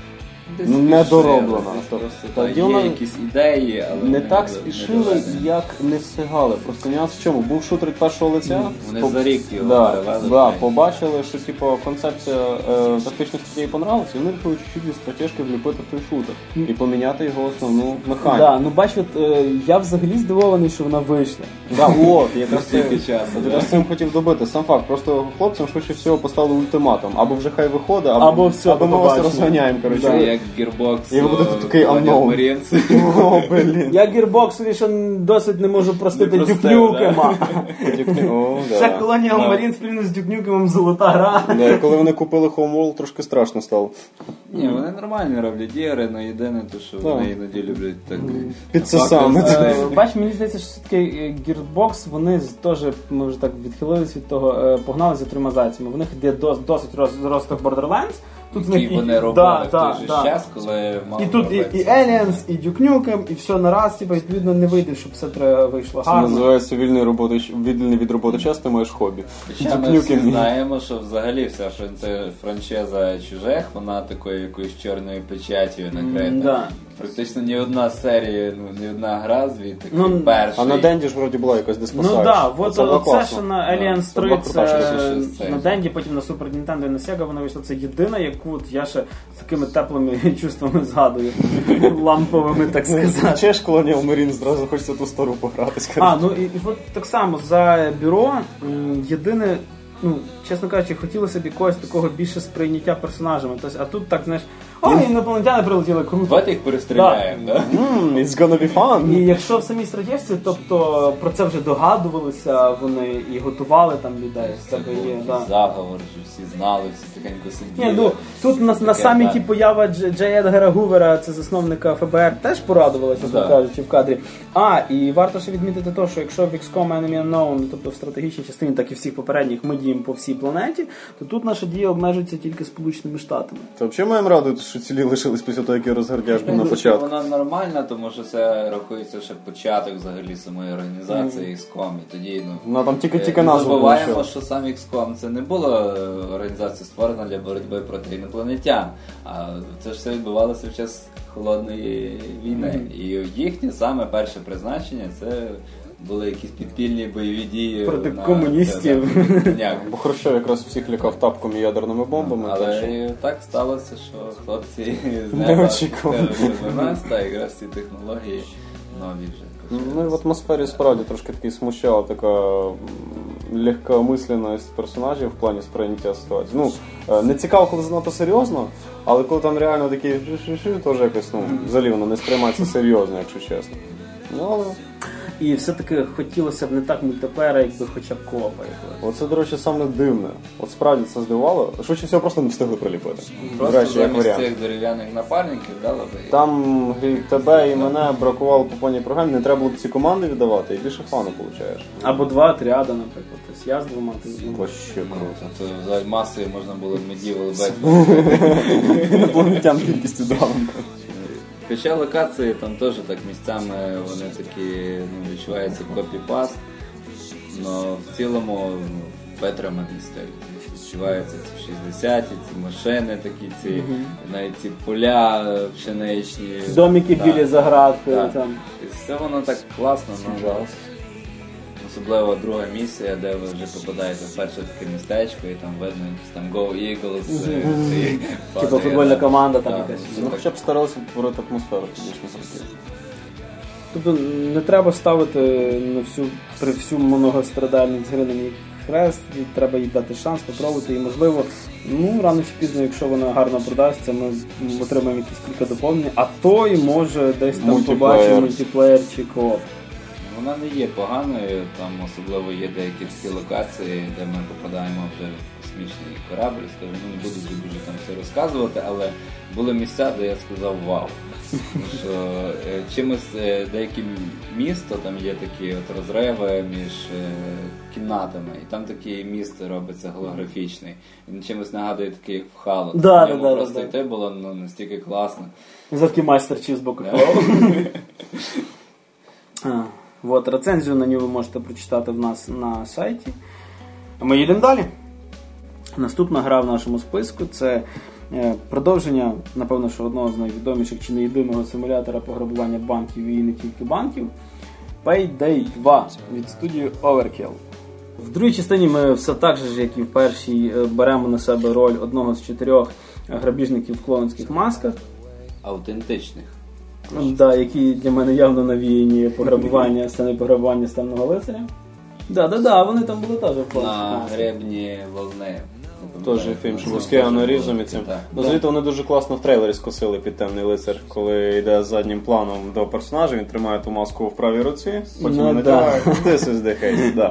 не дороблена. Є якісь ідеї, але не так спішили, як не встигали. Просто нюанс в чому? Був шутер від першого лиця. Вони за рік його перевели. Побачили, що концепція тактичних стратегій понравилася, і вони вирішили чуть-чуть із стратежки вліпити в той шутер і поміняти його основну механіку. Бач, я взагалі здивований, що вона вийшла. Я з цим хотів добити. Сам факт, просто хлопцям швидше всього поставили ультиматум. Або вже хай виходить, або ми вас розганяємо. Gearbox, і ви будете такий unknown. Я Gearbox лише досить не можу простити Duke Nukem. Ще Colonial Marines спільно з Duke Nukem золота гра. Коли вони купили Homeworld, трошки страшно стало. Ні, вони нормально роблять ігри, але єдине те, що вони іноді люблять так підсосами. Бач, мені здається, що все-таки Gearbox, вони теж, ми вже так відхилились від того, погнали за тримазаціями. В них є досить розвиток Borderlands. Тут вони робили в той же час, коли мало. І тут і Aliens, і Duke Nukem, і все нараз, відповідно, не вийде, щоб все вийшло гарно. Це називається вільний від роботи час, ти маєш хобі. Ми всі знаємо, що взагалі вся франшиза чужих, вона такою якоюсь чорною печаттю накрита. Практично ні одна серія, ні одна гра звідти, крім першої. А на Денді ж вроді була якась диспосач. Це що на Aliens 3, це на Денді, потім на Super Nintendo і на Sega вона вийшла. Це єдина, яку я ще з такими теплими чувствами згадую. Ламповими, так сказати. Чеш Colonial Marines, зразу хочеться ту стару погратись. І от так само, за бюро єдине, чесно кажучи, хотілося б якогось такого більше сприйняття персонажами. Тобто, а тут так, знаєш, інопланетяни прилетіли, круто. Давайте їх перестріляємо, да? It's gonna be fun. І якщо в самій Стратєвці, тобто про це вже догадувалися вони і готували там людей. Це був заговор, що всі знали, всі тихенько сиділи. Ні, ну, тут на саміті поява Джей Едгара Гувера, це засновника ФБР, теж порадувала, чесно кажучи, в кадрі. І варто ще відмітити те, що якщо в XCOM Enemy Unknown, тобто в стратегічній частині, так і всіх попередніх, ми діємо по всій планеті, то тут наша дія обмежується тільки Сполученими Штатами. Та взагалі маємо радувати, що цілі лишились після того, як я розгардяж був на початку. Вона нормальна, тому що це рахується ще початок взагалі самої організації XCOM. І тоді, там тільки назву забуваємо, що сам XCOM це не була організація створена для боротьби проти інопланетян. А це ж все відбувалося в час Холодної війни. І їхнє саме перше призначення це були якісь підпільні бойові дії проти комуністів. Бо Хрущов якраз всіх лякав тапком і ядерними бомбами. Але так сталося, що хлопці з неба до нас, та якраз ці технології нові вже. Ну і в атмосфері справді трошки такий смущала така легкомисленність персонажів в плані сприйняття ситуації. Ну, не цікаво, коли занадто серйозно, але коли там реально такі теж якось, взагалі воно не сприймається серйозно, якщо чесно. Ну, але... І все-таки хотілося б не так мультиплеєра, якби хоча б коопа якогось. Оце, до речі, саме дивне. От справді це здивувало. Швидше всього просто не встигли приліпити. Просто замість цих дерев'яних напарників дали би. Там тебе і мене бракувало по повній програмі, не треба було ці команди віддавати, і більше фану получаєш. Або 2 отряди, наприклад. Тобто я з 2 Вообще круто. Це взагалі масою можна було Medieval Battle. Інопланетян кількістю давно. Хоча локації там теж так місцями вони такі, відчуваються копі-паст, але в цілому витриманий стиль. Відчуваються ці 60-ті, ці машини такі, ці, навіть ці поля пшеничні. Домики білі за градкою. Там. І все воно так класно, особливо друга місія, де ви вже попадаєте в перше таке містечко і там видно якісь там Go Eagles. Типа футбольна команда там якась. Ну хоча б старалися творити атмосферу фізичну характеру. Тобто не треба ставити при всю многострадальність гри на ній хрест, треба їй дати шанс, попробувати і можливо, рано чи пізно, якщо вона гарно продасться, ми отримаємо якісь кілька доповнень, а то і може десь там побачимо мультиплеєр чи кооп. Вона не є поганою, там особливо є деякі такі локації, де ми попадаємо вже в космічний корабль, скажімо, не буду дуже там все розказувати, але були місця, де я сказав вау. Тому що чимось деякі місто, там є такі от розриви між кімнатами, і там такий міст робиться голографічний. Він чимось нагадує такий, як в Halo. Просто йти було настільки класно. Завки майстер чи з боку. Вот, рецензію на нього ви можете прочитати в нас на сайті. Ми їдемо далі. Наступна гра в нашому списку – це продовження, напевно, що одного з найвідоміших чи неєдиного симулятора пограбування банків і не тільки банків – Payday 2 від студії Overkill. В другій частині ми все так же, як і в першій, беремо на себе роль одного з 4 грабіжників в клоунських масках. Автентичних. Да, які для мене явно навіяні пограбування, сцени пограбування Темного лицаря. Да, вони там були теж в класі. На гребні волни. Теж фільм, що з Кіану Рівзом і цим. Звідти вони дуже класно в трейлері скосили під Темний лицар, коли йде заднім планом до персонажа, він тримає ту маску в правій руці, потім натягає. This is the case, да.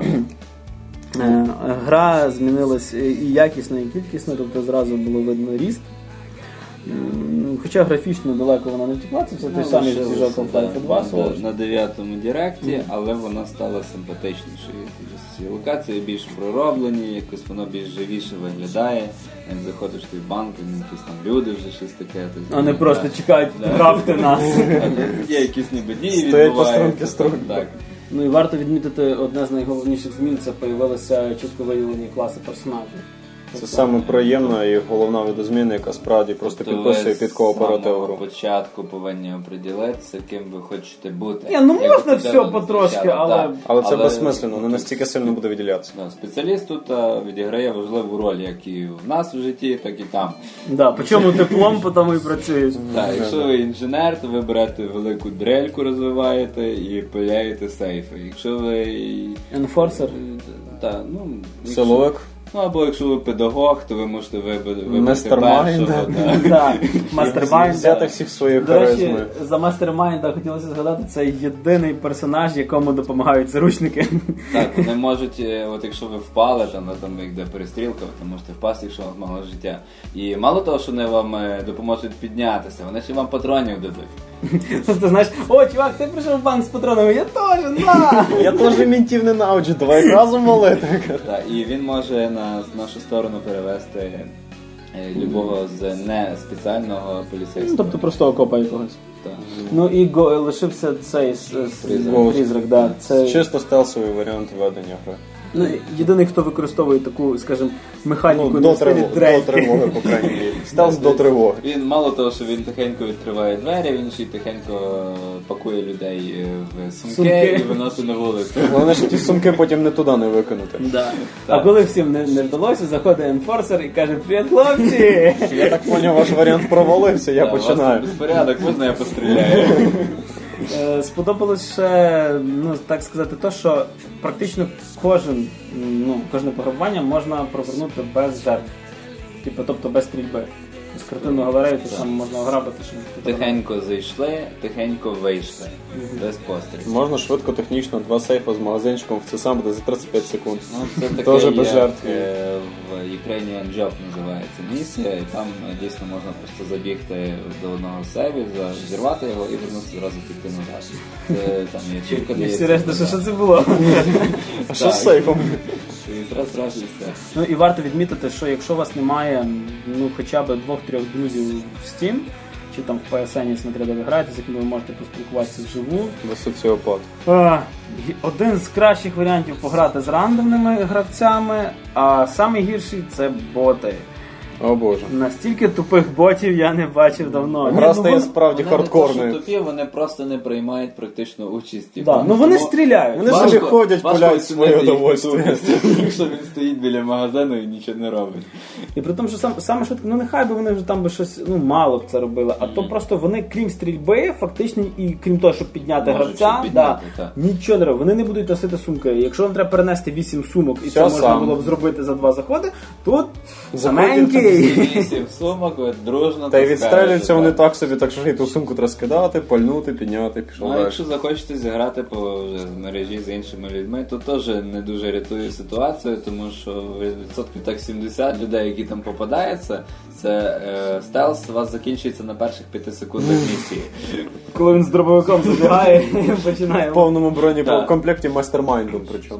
Гра змінилась і якісно, і кількісно, тобто зразу було видно ріст. Хоча графічно далеко вона не втекла, це все той самий свіжок Half-Life 2. На 9-му директі, але вона стала симпатичнішою. Локації більш пророблені, якось воно більш живіше виглядає. Як заходиш в той банк, якісь там люди вже щось таке. А не просто чекають, грабте нас. Є якісь ніби дії відбуваються. Так. Ну і варто відмітити, одне з найголовніших змін – це появилися чітко виявлені класи персонажів. Це саме приємна і головна видозміна, яка справді просто підписує під кооператив гру. Ви з початку повинні оприділитися, ким ви хочете бути. Ні, можна все потрошки, але... Але це безсмислено, не настільки сильно буде виділятися. Спеціаліст тут відіграє важливу роль, як і в нас в житті, так і там. Да, по чому диплом, по тому і працюєш. Так, якщо ви інженер, то ви берете велику дрельку, розвиваєте і пиляєте сейфи. Якщо ви... Енфорсер? Силовик? Ну, або якщо ви педагог, то ви можете вибрати Мастермайнд. Мастермайнд. Взяти всіх своїх харизми. До речі, за Мастермайнда хотілося згадати, це єдиний персонаж, якому допомагають заручники. Так, вони можуть, от якщо ви впали, там як де перестрілка, ви можете впасти, якщо у вас мало життя. І мало того, що вони вам допоможуть піднятися, вони ще вам патронів дадуть. Тобто, знаєш, о, чувак, ти прийшов в банк з патронами, я теж, на! Я теж мінтів ненавиджу, давай разом валити. Так, і він може на нашу сторону перевести любого з не спеціального поліцейського. Тобто простого копа якогось. Так. Ну і лишився цей призрак, да. Це чисто стелсовий варіант ведення гри. Ну, єдиний, хто використовує таку, скажімо, механіку до тривоги, по крайній мірі. Стелс до тривоги. Він мало того, що він тихенько відкриває двері, він ще й тихенько пакує людей в сумки і виносить на вулицю. Головне, що ті сумки потім не туди не викинути. Да. А коли всім не вдалося, заходить енфорсер і каже: "Привіт, хлопці!" Я так поняв, ваш варіант провалився, я починаю. Безпорядок, можна я постріляю? Сподобалось ще, так сказати, то, що практично кожне пограбування можна провернути без жертв. Тобто без стрільби. З картинного галерею те саме можна ограбити. Тихенько зайшли, тихенько вийшли. Без пострілів. Можна швидко, технічно, 2 сейфа з магазинчиком, це сам буде за 35 секунд. Це таке, тоже без жертв. В Ukrainian Job називається місія, і там дійсно можна просто забігти до одного сейву, зірвати його і вернутися зразу піти назад. Це там є чівка, де є... всі решта, що це було? А що з сейфом? І зразу і все. Ну і варто відмітити, що якщо у вас немає хоча б 2-3 друзів в Steam, чи там в PSN, смотря де ви граєте, з якими ви можете поспілкуватися вживу. Ви соціопат. Один з кращих варіантів пограти з рандомними гравцями, а найгірший – це боти. О боже. Настільки тупих ботів я не бачив давно. Гра стає справді хардкорною. Вони тупі, вони просто не приймають практично участі. Да, вони стріляють. Вони собі ходять, пуляють своє удовольствие. Якщо він стоїть біля магазину і нічого не робить. І при тому, що саме швидко, нехай би вони вже там би щось, мало б це робили, а то просто вони, крім стрільби, фактично, і крім того, щоб підняти гравця, нічого не роблять. Вони не будуть носити сумки. Якщо вам треба перенести 8 сумок, і це можна було б зробити за 2 заходи, тут саменький. 8 сумок, дружно. Та й відстрелюються вони так собі, так що і ту сумку треба скидати, пальнути, підняти, пішов далі. Якщо захочете зіграти по мережі з іншими людьми, то теж не дуже рятує ситуацію, тому що відсотків так 70 людей, які там попадаються, це стелс у вас закінчується на перших 5 секундах місії. Коли він з дробовиком забігає і починає. В повному бронекомплекті мастермайндом причому.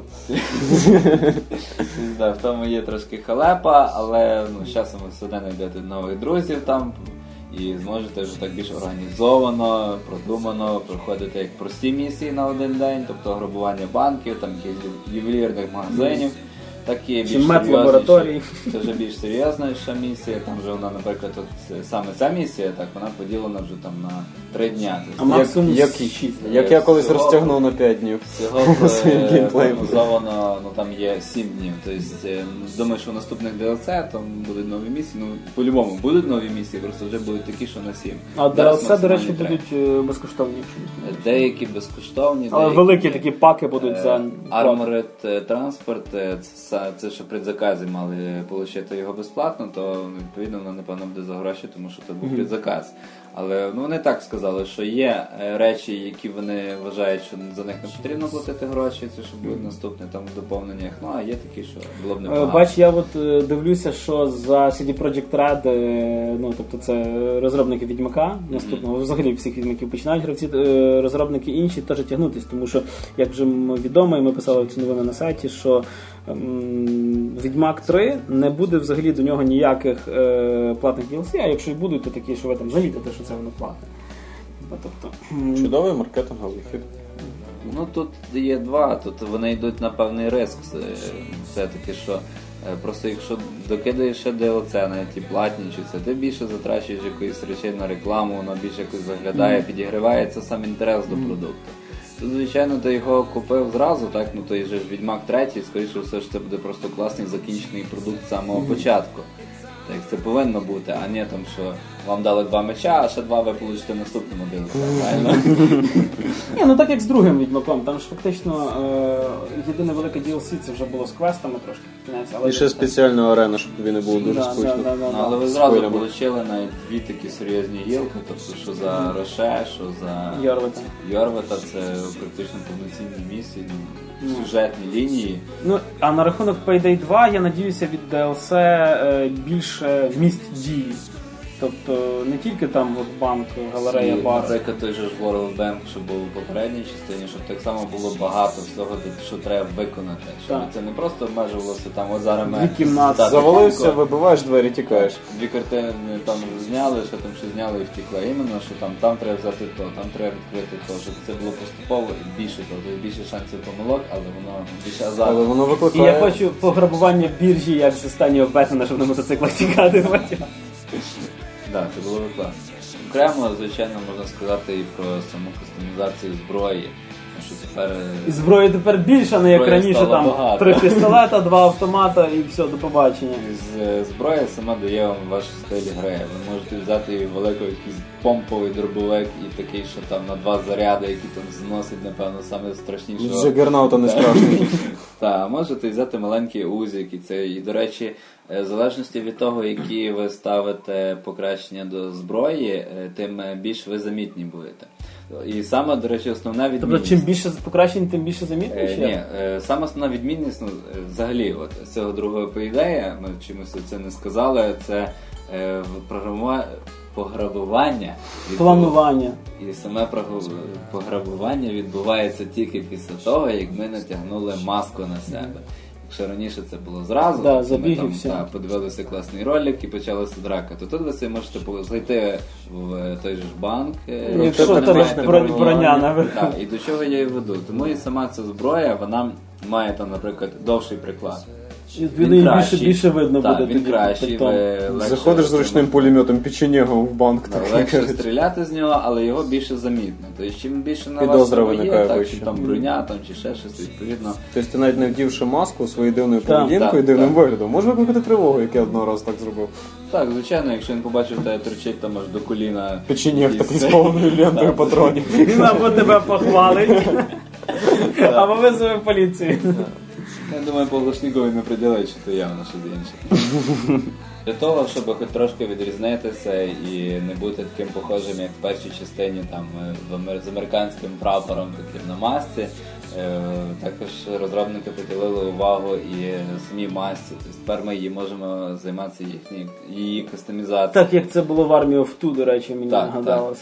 В тому є трошки халепа, але з часом ви все одно знайдете нових друзів там і зможете вже так більш організовано, продумано проходити як прості місії на один день, тобто грабування банків, там якихось ювелірних магазинів. Так є більш лабораторій. Це вже більш серйозніша місія, там вже вона, наприклад, саме ця місія, так, вона поділена вже там на 3 дня. А максимум як я колись розтягнув на 5 днів. Всього прогнозовано, там є 7 днів. Тобто, думаю, що в наступних DLC там будуть нові місії, по-любому будуть нові місії, просто вже будуть такі, що на 7. А DLC, до речі, будуть безкоштовні. Деякі безкоштовні. Але великі такі паки будуть за... Armored Transport, це що предзакази мали отримати його безплатно, то відповідно воно, напевно, буде за гроші, тому що це був предзаказ. Але вони так сказали, що є речі, які вони вважають, що за них не потрібно платити гроші, це що буде наступне там в доповненнях. А є такі, що було б непогано. Бач, я дивлюся, що за CD Projekt Red, тобто це розробники Відьмака наступного, взагалі всіх Відьмаків починають гравці, розробники інші теж тягнутись, тому що, як вже відомо, і ми писали цю новину на сайті, що Відьмак 3 не буде взагалі до нього ніяких платних DLC, а якщо й будуть, то такі, що ви там замітите, що це воно платне. Тобто... Чудовий маркетинговий хід. Тут є 2, тут вони йдуть на певний риск. Все-таки, що просто якщо докидаєш ще DLC на ті платні, чи це ти більше затрачуєш якоїсь речей на рекламу, воно більше якось заглядає, підігрівається сам інтерес до продукту. Тут, звичайно, ти його купив зразу, так, той же Відьмак 3, скоріше все ж це буде просто класний закінчений продукт з самого початку. так як це повинно бути, а не там, що вам дали 2 меча, а ще 2 ви получите в наступному DLC, правильно? Ні, ну так як з другим Відьмаком, там ж фактично єдине велике DLC це вже було з квестами трошки. І ще спеціальна арена, щоб тобі не було дуже скучно. Але ви зразу отримали навіть 2 такі серйозні гілки, тобто що за Роше, що за Йорвета, це практично повноцінні місії, сюжетні лінії. Ну, а на рахунок Payday 2, я надіюся, від DLC більше місць дії. Тобто не тільки там от банк, галерея, бар. Наприклад, той же ж World Bank, що був у попередній частині, щоб так само було багато всього, що треба виконати. Щоб це не просто обмежувалося там, от зараз ми... 2 кімнати. Завалився, вибиваєш двері, тікаєш. 2 картини там зняли, що там ще зняли і втекла. Іменно, що там треба взяти то, там треба відкрити то, щоб це було поступово і більше то. Тобто більше шансів помилок, але воно більше азарту. Але воно викликає... І я хочу пограбування біржі, як з останнього Бетмена, щоб на мотоциклах тікати. Так, це було класно. Окремо, звичайно, можна сказати і про саму кастомізацію зброї. Що тепер... І зброї тепер більше, не як раніше, там багато. 3 пістолета, 2 автомата і все, до побачення. Зброя сама дає вам ваш стиль гри. Ви можете взяти великий якийсь помповий дробовик і такий, що там на 2 заряди, які там зносить, напевно, саме страшнішого. Джагернаута не страшний. Так, можете взяти маленький узик і це. І, до речі, в залежності від того, які ви ставите покращення до зброї, тим більш ви замітні будете. І саме, до речі, основна відмінність... Тобто, чим більше покращень, тим більше замітніше? Ні, саме основна відмінність, взагалі, от, з цього другого Payday, ми чомусь це не сказали, це пограбування. Планування. І саме пограбування відбувається тільки після того, як ми натягнули маску на себе. Якщо раніше це було зразу, ми там подивилися класний ролик і почалася драка, то тут ви собі можете зайти в той же ж банк, якщо там броня наверху. І до чого я і веду. Тому і сама ця зброя, вона має там, наприклад, довший приклад. Він більше видно буде. Він кращий. Заходиш з ручним пулеметом печенегом в банк. Легше стріляти з нього, але його більше замітно. Тобто, чим більше на вас є, так, чи там броня, там, чи ще щось, відповідно. Тобто ти навіть не вдівши маску своєю дивною поведінкою і дивним виглядом, може викликати тривогу, як я одного разу так зробив. Так, звичайно, якщо він побачив тебе торчить там аж до коліна. Печенег такий з повною лентою патронів. Він або тебе похвалить, або визове поліцію. Я думаю, по Глушнікові не приділить, що то явно щось інше. Для того, щоб хоч трошки відрізнитися і не бути таким похожим, як в першій частині там, з американським прапором таким на масці, також розробники приділили увагу і самій масці. Тобто тепер ми її можемо займатися її кастомізацією. Так, як це було в Army of Two, до речі, мені нагадалося.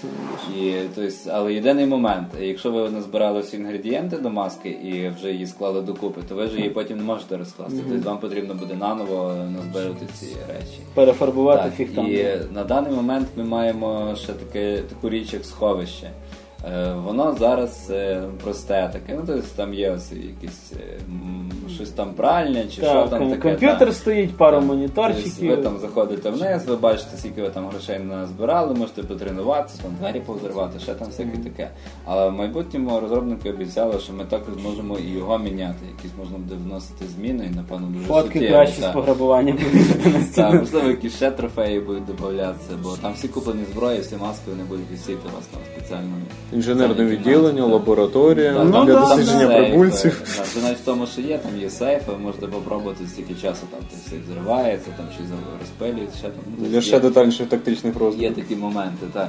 Але єдиний момент, якщо ви назбирали всі інгредієнти до маски і вже її склали докупи, то ви ж її потім не можете розкласти. Тобто вам потрібно буде наново назбирати ці речі. Перефарбувати фіг там. І на даний момент ми маємо ще таку річ, як сховище. Воно зараз просте таке, ну тобто там є ось якісь щось там пральне чи що там таке. Комп'ютер стоїть, пару моніторчиків. Ви там заходите вниз, ви бачите, скільки ви там грошей назбирали, можете потренуватися, там двері повзривати, ще там всяке таке. Але в майбутньому розробники обіцяли, що ми також зможемо і його міняти, якісь можна буде вносити зміни, і напевно дуже суттєво. Фотки краще з пограбування будуть на стіну. Так, можливо, якісь ще трофеї будуть додаватися, бо там всі куплені зброї, всі маски вони будуть висіти у вас там спеціальному. Інженерне відділення, лабораторія, для дослідження прибульців. Навіть в тому, що є, там є сейфи, ви можете попробувати стільки часу, там сейф зривається, там чи розпилюється, ще там. Для ще детальніших тактичних розвиток. Є такі моменти, так.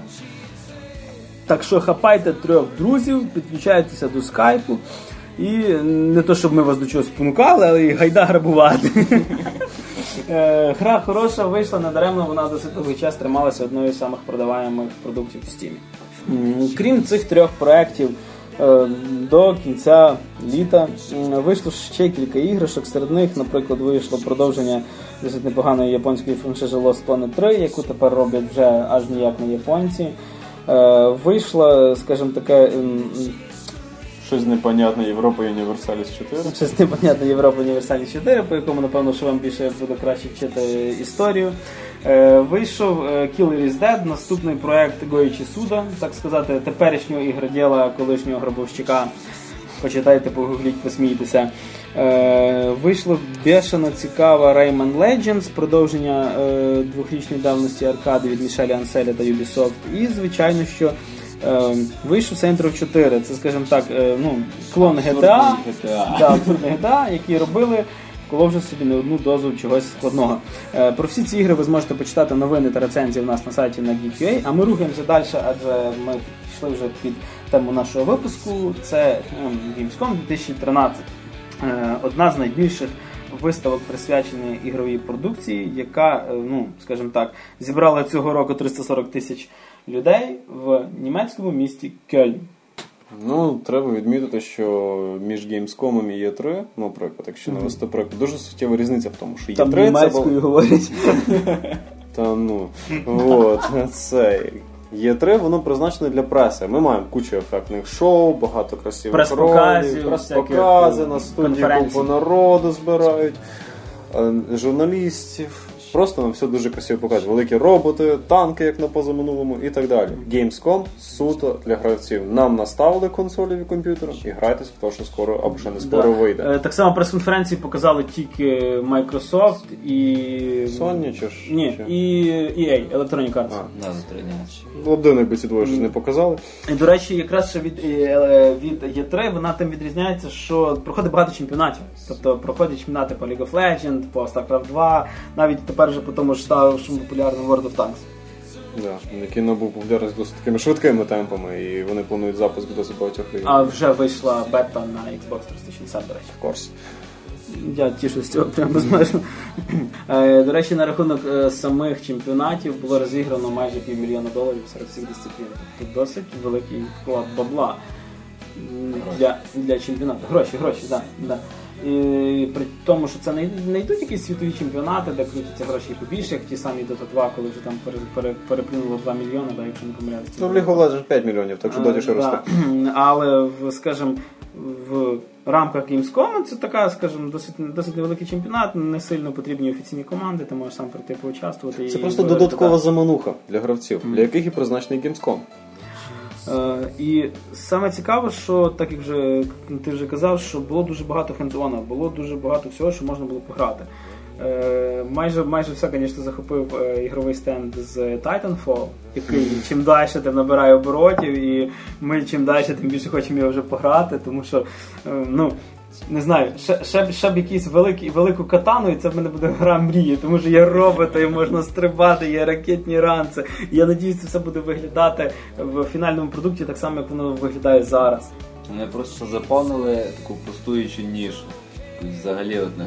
Так що хапайте 3 друзів, підключайтеся до скайпу і не то, щоб ми вас до чого спонукали, але і гайда грабувати. Гра хороша, вийшла недаремно, вона досить довгий час трималася одною з самих продаваємих продуктів в Steam. Крім цих 3 проєктів, до кінця літа вийшло ще кілька іграшок, серед них, наприклад, вийшло продовження досить непоганої японської франшизи Lost Planet 3, яку тепер роблять вже аж ніяк не японці. Вийшло, скажімо таке... Щось непонятне Європа Універсаліс 4. Щось непонятне Європа Універсаліс 4, по якому, напевно, що вам більше буде краще вчити історію. Вийшов Killer is Dead, наступний проект Гоїчі Суда, так сказати, теперішнього ігроділа, колишнього грабовщика. почитайте, погугліть, посмійтеся. Вийшло бешено цікава Rayman Legends, продовження 2-річної давності аркади від Мішеля Анселя та Ubisoft. І, звичайно, що вийшов Saints Row 4. Це, скажімо так, клон GTA, абсурдний GTA, які робили, вколовши собі не одну дозу чогось складного. Про всі ці ігри ви зможете почитати новини та рецензії в нас на сайті на Geek.ua, а ми рухаємося далі, адже ми пішли вже під тему нашого випуску. Це Gamescom 2013. Одна з найбільших виставок, присвяченої ігровій продукції, яка, скажімо так, зібрала цього року 340 тисяч людей в німецькому місті Кельн. Треба відмітити, що між Gamescom і E3, наприклад, якщо навести приклад, дуже суттєва різниця в тому, що E3 там німецькою говорять. Це E3, воно призначене для преси. Ми маємо кучу ефектних шоу, багато красивих ролів, прес-покази, на студії купу народу збирають, журналістів. Просто нам все дуже красиво показують. Великі роботи, танки, як на позаминулому, і так далі. Gamescom суто для гравців. Нам наставили консолі і комп'ютери і грайтесь в те, що скоро або ще не скоро вийде. Так само прес-конференції показали тільки Microsoft і... Sony чи ж? Ні, і EA, Electronic Arts. Один, якби ці двоє щось не показали. І, до речі, якраз ще від E3 вона тим відрізняється, що проходить багато чемпіонатів. Тобто проходять чемпіонати по League of Legends, по StarCraft 2, навіть тепер вже по тому ж ставшому популярному World of Tanks. Який набув популярність досить такими швидкими темпами, і вони планують запуск досить багатьох ігор. А вже вийшла бета на Xbox 360, до речі. В курсі. Я тішусь з цього прямо безмежно. До речі, на рахунок самих чемпіонатів було розіграно майже $500 000 серед всіх дисциплін. Тобто досить великий вклад бабла для чемпіонату. Гроші, да. І при тому, що це не йдуть якісь світові чемпіонати, де крутяться гроші побільше, як ті самі Dota 2, коли вже там переплюнуло 2 мільйони, якщо не помиляюся. В League of Legends 5 мільйонів, так що доті ще росте. Але, скажімо, в рамках Gamescom це така, скажімо, досить невеликий чемпіонат, не сильно потрібні офіційні команди, ти можеш сам прийти поучаствувати. Це просто додаткова замануха для гравців, для яких і призначений Gamescom. І саме цікаво, що, так як ти вже казав, що було дуже багато хендзона, було дуже багато всього, що можна було пограти. Майже все, звісно, захопив ігровий стенд з Titanfall, який чим далі тим набирає оборотів, і ми чим далі тим більше хочемо його вже пограти, тому що, не знаю, ще б якусь велику катану, і це в мене буде гра мрії, тому що є роботи, і можна стрибати, є ракетні ранці. І я надіюсь, це все буде виглядати в фінальному продукті так само, як воно виглядає зараз. Вони просто заповнили таку пустуючу нішу. Взагалі одне.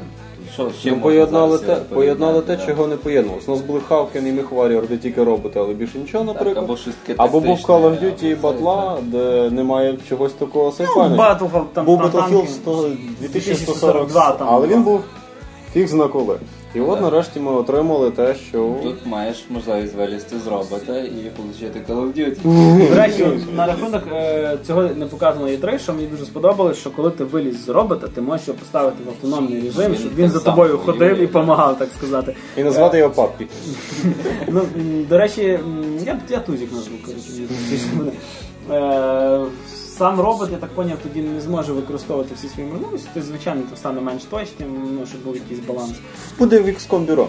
Поєднали те, чого не поєднувалося. У нас були Hawken і MechWarrior, де тільки роботи, але більше нічого, наприклад. Або був Call of Duty і Battle, де немає чогось такого сайфайного. Був Battlefield 2142, але він був фіг зна коли. І от нарешті ми отримали те, що... Тут маєш можливість вилізти з робота і отримати Call of Duty. До речі, на рахунок цього не показано E3, що мені дуже сподобалось, що коли ти виліз з робота, ти можеш його поставити в автономний режим, щоб він за тобою ходив і допомагав, так сказати. І назвати його Паппі. До речі, я Тузік назву, сам робот, я так поняв, тоді не зможе використовувати всі свої можливості, то звичайно то стане менш точним, щоб був якийсь баланс. Буде в XCOM бюро.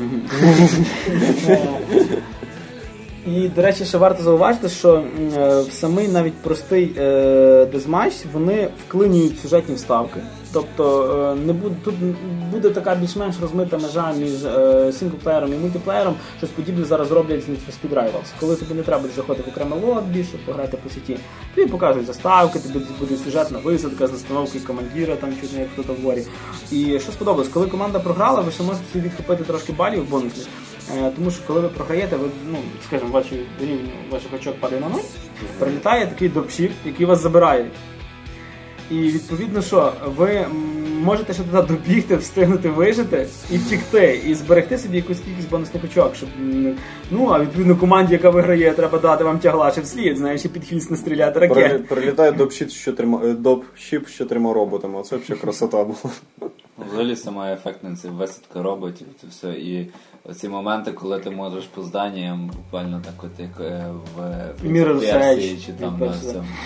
І, до речі, ще варто зауважити, що в самий навіть простий дезматч вони вклинюють сюжетні вставки. Тобто тут буде така більш-менш розмита межа між синглплеєром і мультиплеєром. Щось подібне зараз роблять з Need for Speed Rivals. Коли тобі не треба заходити в окремий лобі, щоб пограти по сіті, тобі покажуть заставки, тобі буде сюжетна висадка з настановки командира, там чуть не як хто-то в ворі. І що сподобалось, коли команда програла, ви ще можете собі відхопити трошки балів бонусних. Тому що коли ви програєте, ви, скажімо, ваших очок падає на 0, прилітає такий дропшіп, який вас забирає. І відповідно, що ви можете ще туди добігти, встигнути вижити і втікти, і зберегти собі якусь кількість бонусних очок, щоб, а відповідно команді, яка виграє, треба дати вам тяглаче вслід, знаєш, і під хвіст не стріляти ракет. Прилітає допшіп з 4 роботами, оце взагалі красота була. Взагалі сама ефектна висадка роботів, це все, і оці моменти, коли ти можеш по зданням, буквально так от як в Mirror's Edge, чи там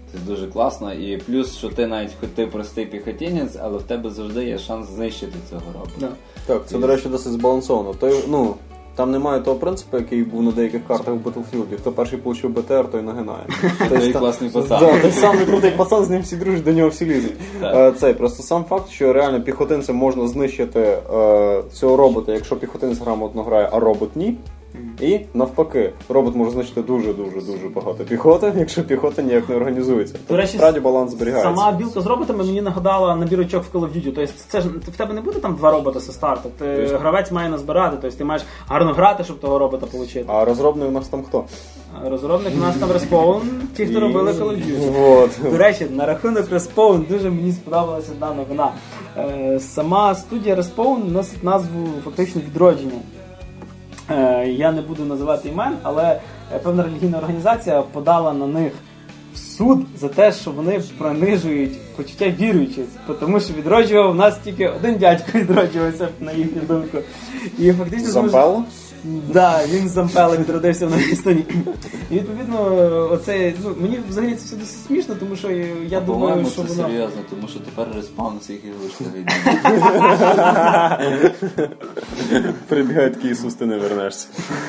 Це дуже класно. І плюс, що ти навіть хоч ти простий піхотінець, але в тебе завжди є шанс знищити цього робота. Так, це, до речі, досить збалансовано. Там немає того принципу, який був на деяких картах в Battlefield. Хто перший получив БТР, той нагинає. Той класний пацан. Той самий крутий пацан, з ним всі дружать, до нього всі лізуть. Просто сам факт, що реально піхотинцем можна знищити цього робота, якщо піхотинець грамотно грає, а робот ні. І навпаки, робот може знищити дуже-дуже-дуже багато піхоти, якщо піхота ніяк не організується. Тобто, справді баланс зберігається. Сама білка з роботами мені нагадала набір очок в Call of Duty. Тобто це ж в тебе не буде там 2 робота зі старту. Гравець має назбирати, тобто ти маєш гарно грати, щоб того робота отримати. А розробник у нас там хто? Розробник у нас там Respawn, ті, хто робили Call of Duty. До речі, на рахунок Respawn дуже мені сподобалася одна новина. Сама студія Respawn носить назву фактично Відродження. Я не буду називати імен, але певна релігійна організація подала на них в суд за те, що вони принижують почуття віруючих, тому що відроджував у нас тільки один дядько відроджувався, на їхню думку. І фактично Зампелло? Да, він з Зампелло відродився в Новій Естонії. І відповідно, мені взагалі це все досить смішно, тому що я думаю, що воно... це серйозно, тому що тепер Respawn на своїх ігрушках йде. Прибігає такий Ісус, ти не вернешся.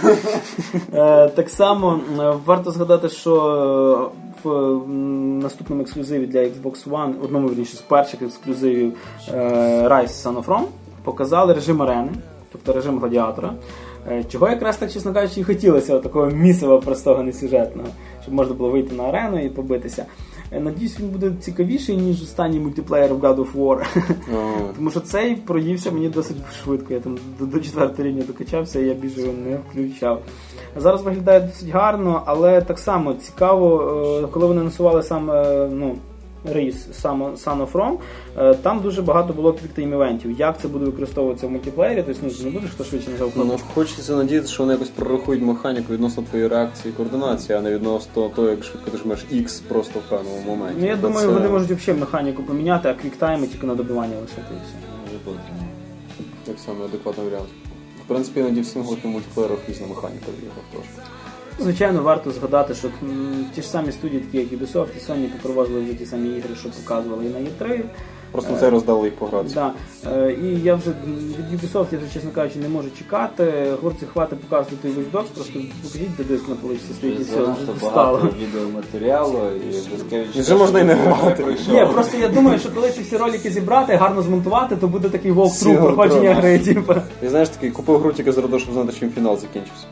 Так само варто згадати, що в наступному ексклюзиві для Xbox One, одному, вірніше, з перших ексклюзивів Rise Son of Rome, показали режим арени, тобто режим гладіатора. Чого якраз так, чесно кажучи, і хотілося такого місива простого, несюжетного, щоб можна було вийти на арену і побитися. Надіюсь, він буде цікавіший, ніж останній мультиплеєр в God of War. Тому що цей проївся мені досить швидко. Я там до 4-го рівня докачався, і я більше його не включав. Зараз виглядає досить гарно, але так само цікаво, коли вони насували саме, рейс Son of Rome, там дуже багато було квіктайм-івентів. Як це буде використовуватися в мультиплеєрі, тобто не буде хто швидше нажав кнопку. Хочеться надіятися, що вони якось прорахують механіку відносно твоєї реакції і координації, а не відносно того, як швидко ти жмеш X просто в певному моменті. Я думаю, вони можуть взагалі механіку поміняти, а квіктайми тільки на добивання лишити і все. Так само адекватний варіант. В принципі, іноді в синглих мультиплеєрах різна механіка в іграх трошки. Звичайно, варто згадати, що ті ж самі студії, такі як Ubisoft і Sony, попровозили вже ті самі ігри, що показували і на E3. Просто це роздали їх погратися. Да. І я вже від Ubisoft, я вже, чесно кажучи, не можу чекати. Хлопці, хватить показувати той Watch Dogs, просто покажіть, де диск на поличці стоїть і все, вже достало. Багато відеоматеріалу і вже можна і не грати. Ні, просто я думаю, що коли ці всі ролики зібрати, гарно змонтувати, то буде такий walkthrough проходження гри. І знаєш, такий купив гру тільки заради, щоб знати, чим фінал закінчився.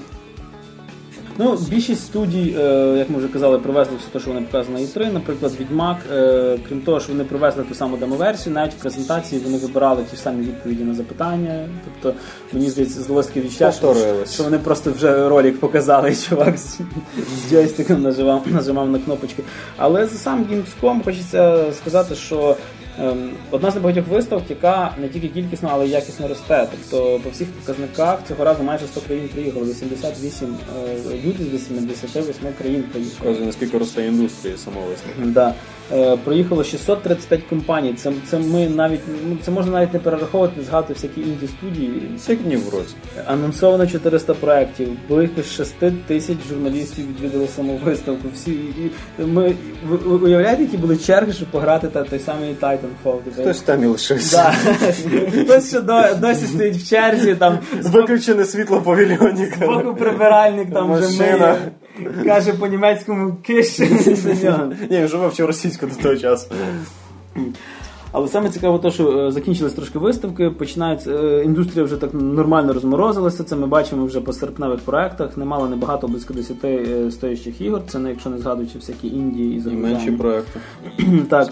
Більшість студій, як ми вже казали, привезли все те, що вони показали на E3. Наприклад, Відьмак, крім того, що вони привезли ту саму демоверсію, навіть в презентації вони вибирали ті ж самі відповіді на запитання. Тобто, мені здається, здалося таке відчуття, що вони просто вже ролик показали, і чувак з джойстиком нажимав на кнопочки. Але за сам Gamescom хочеться сказати, що одна з небагатьох виставок, яка не тільки кількісно, але й якісно росте. Тобто по всіх показниках цього разу майже 100 країн приїхали, 88 люди з 88 країн приїхали. Показує, наскільки росте індустрія самого виставки. Да. Проїхало 635 компаній. Це можна навіть не перераховувати, згадувати всякі інді-студії. Це як днів в році. Анонсовано 400 проєктів, близько 6 тисяч журналістів відвідали саму виставку. Ви уявляєте, які були черги, щоб пограти той самий Titanfall? Хтось там і лишився. Хтось ще досі стоїть в черзі. Виключене світло павільйоні. Збоку прибиральник там вже миє. Каже по-німецькому «киш». Ні, вже вивчив російську до того часу. Але саме цікаво те, що закінчились трошки виставки, індустрія вже так нормально розморозилася, це ми бачимо вже по серпневих проєктах, немало, небагато, близько 10 стоящих ігор, це не якщо не згадуючи всякі Індії і Азербайджан. І менші проєкти. Так.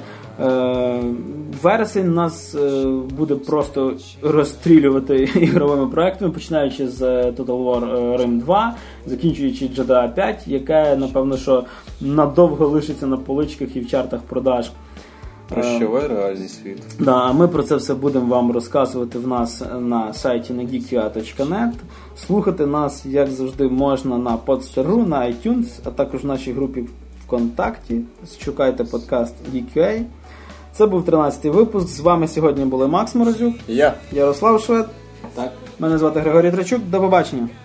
Вересень нас буде просто розстрілювати ігровими проєктами, починаючи з Total War Rim 2, закінчуючи GTA 5, яке, напевно, що надовго лишиться на поличках і в чартах продаж. Прощавай реальний світ. Да, а ми про це все будемо вам розказувати в нас на сайті на geekua.net. Слухати нас, як завжди, можна на Podster.ru, на iTunes, а також в нашій групі ВКонтакті. Шукайте подкаст Geekua. Це був 13-й випуск. З вами сьогодні були Макс Морозюк, я, Ярослав Швед. Так. Мене звати Григорій Трачук. До побачення.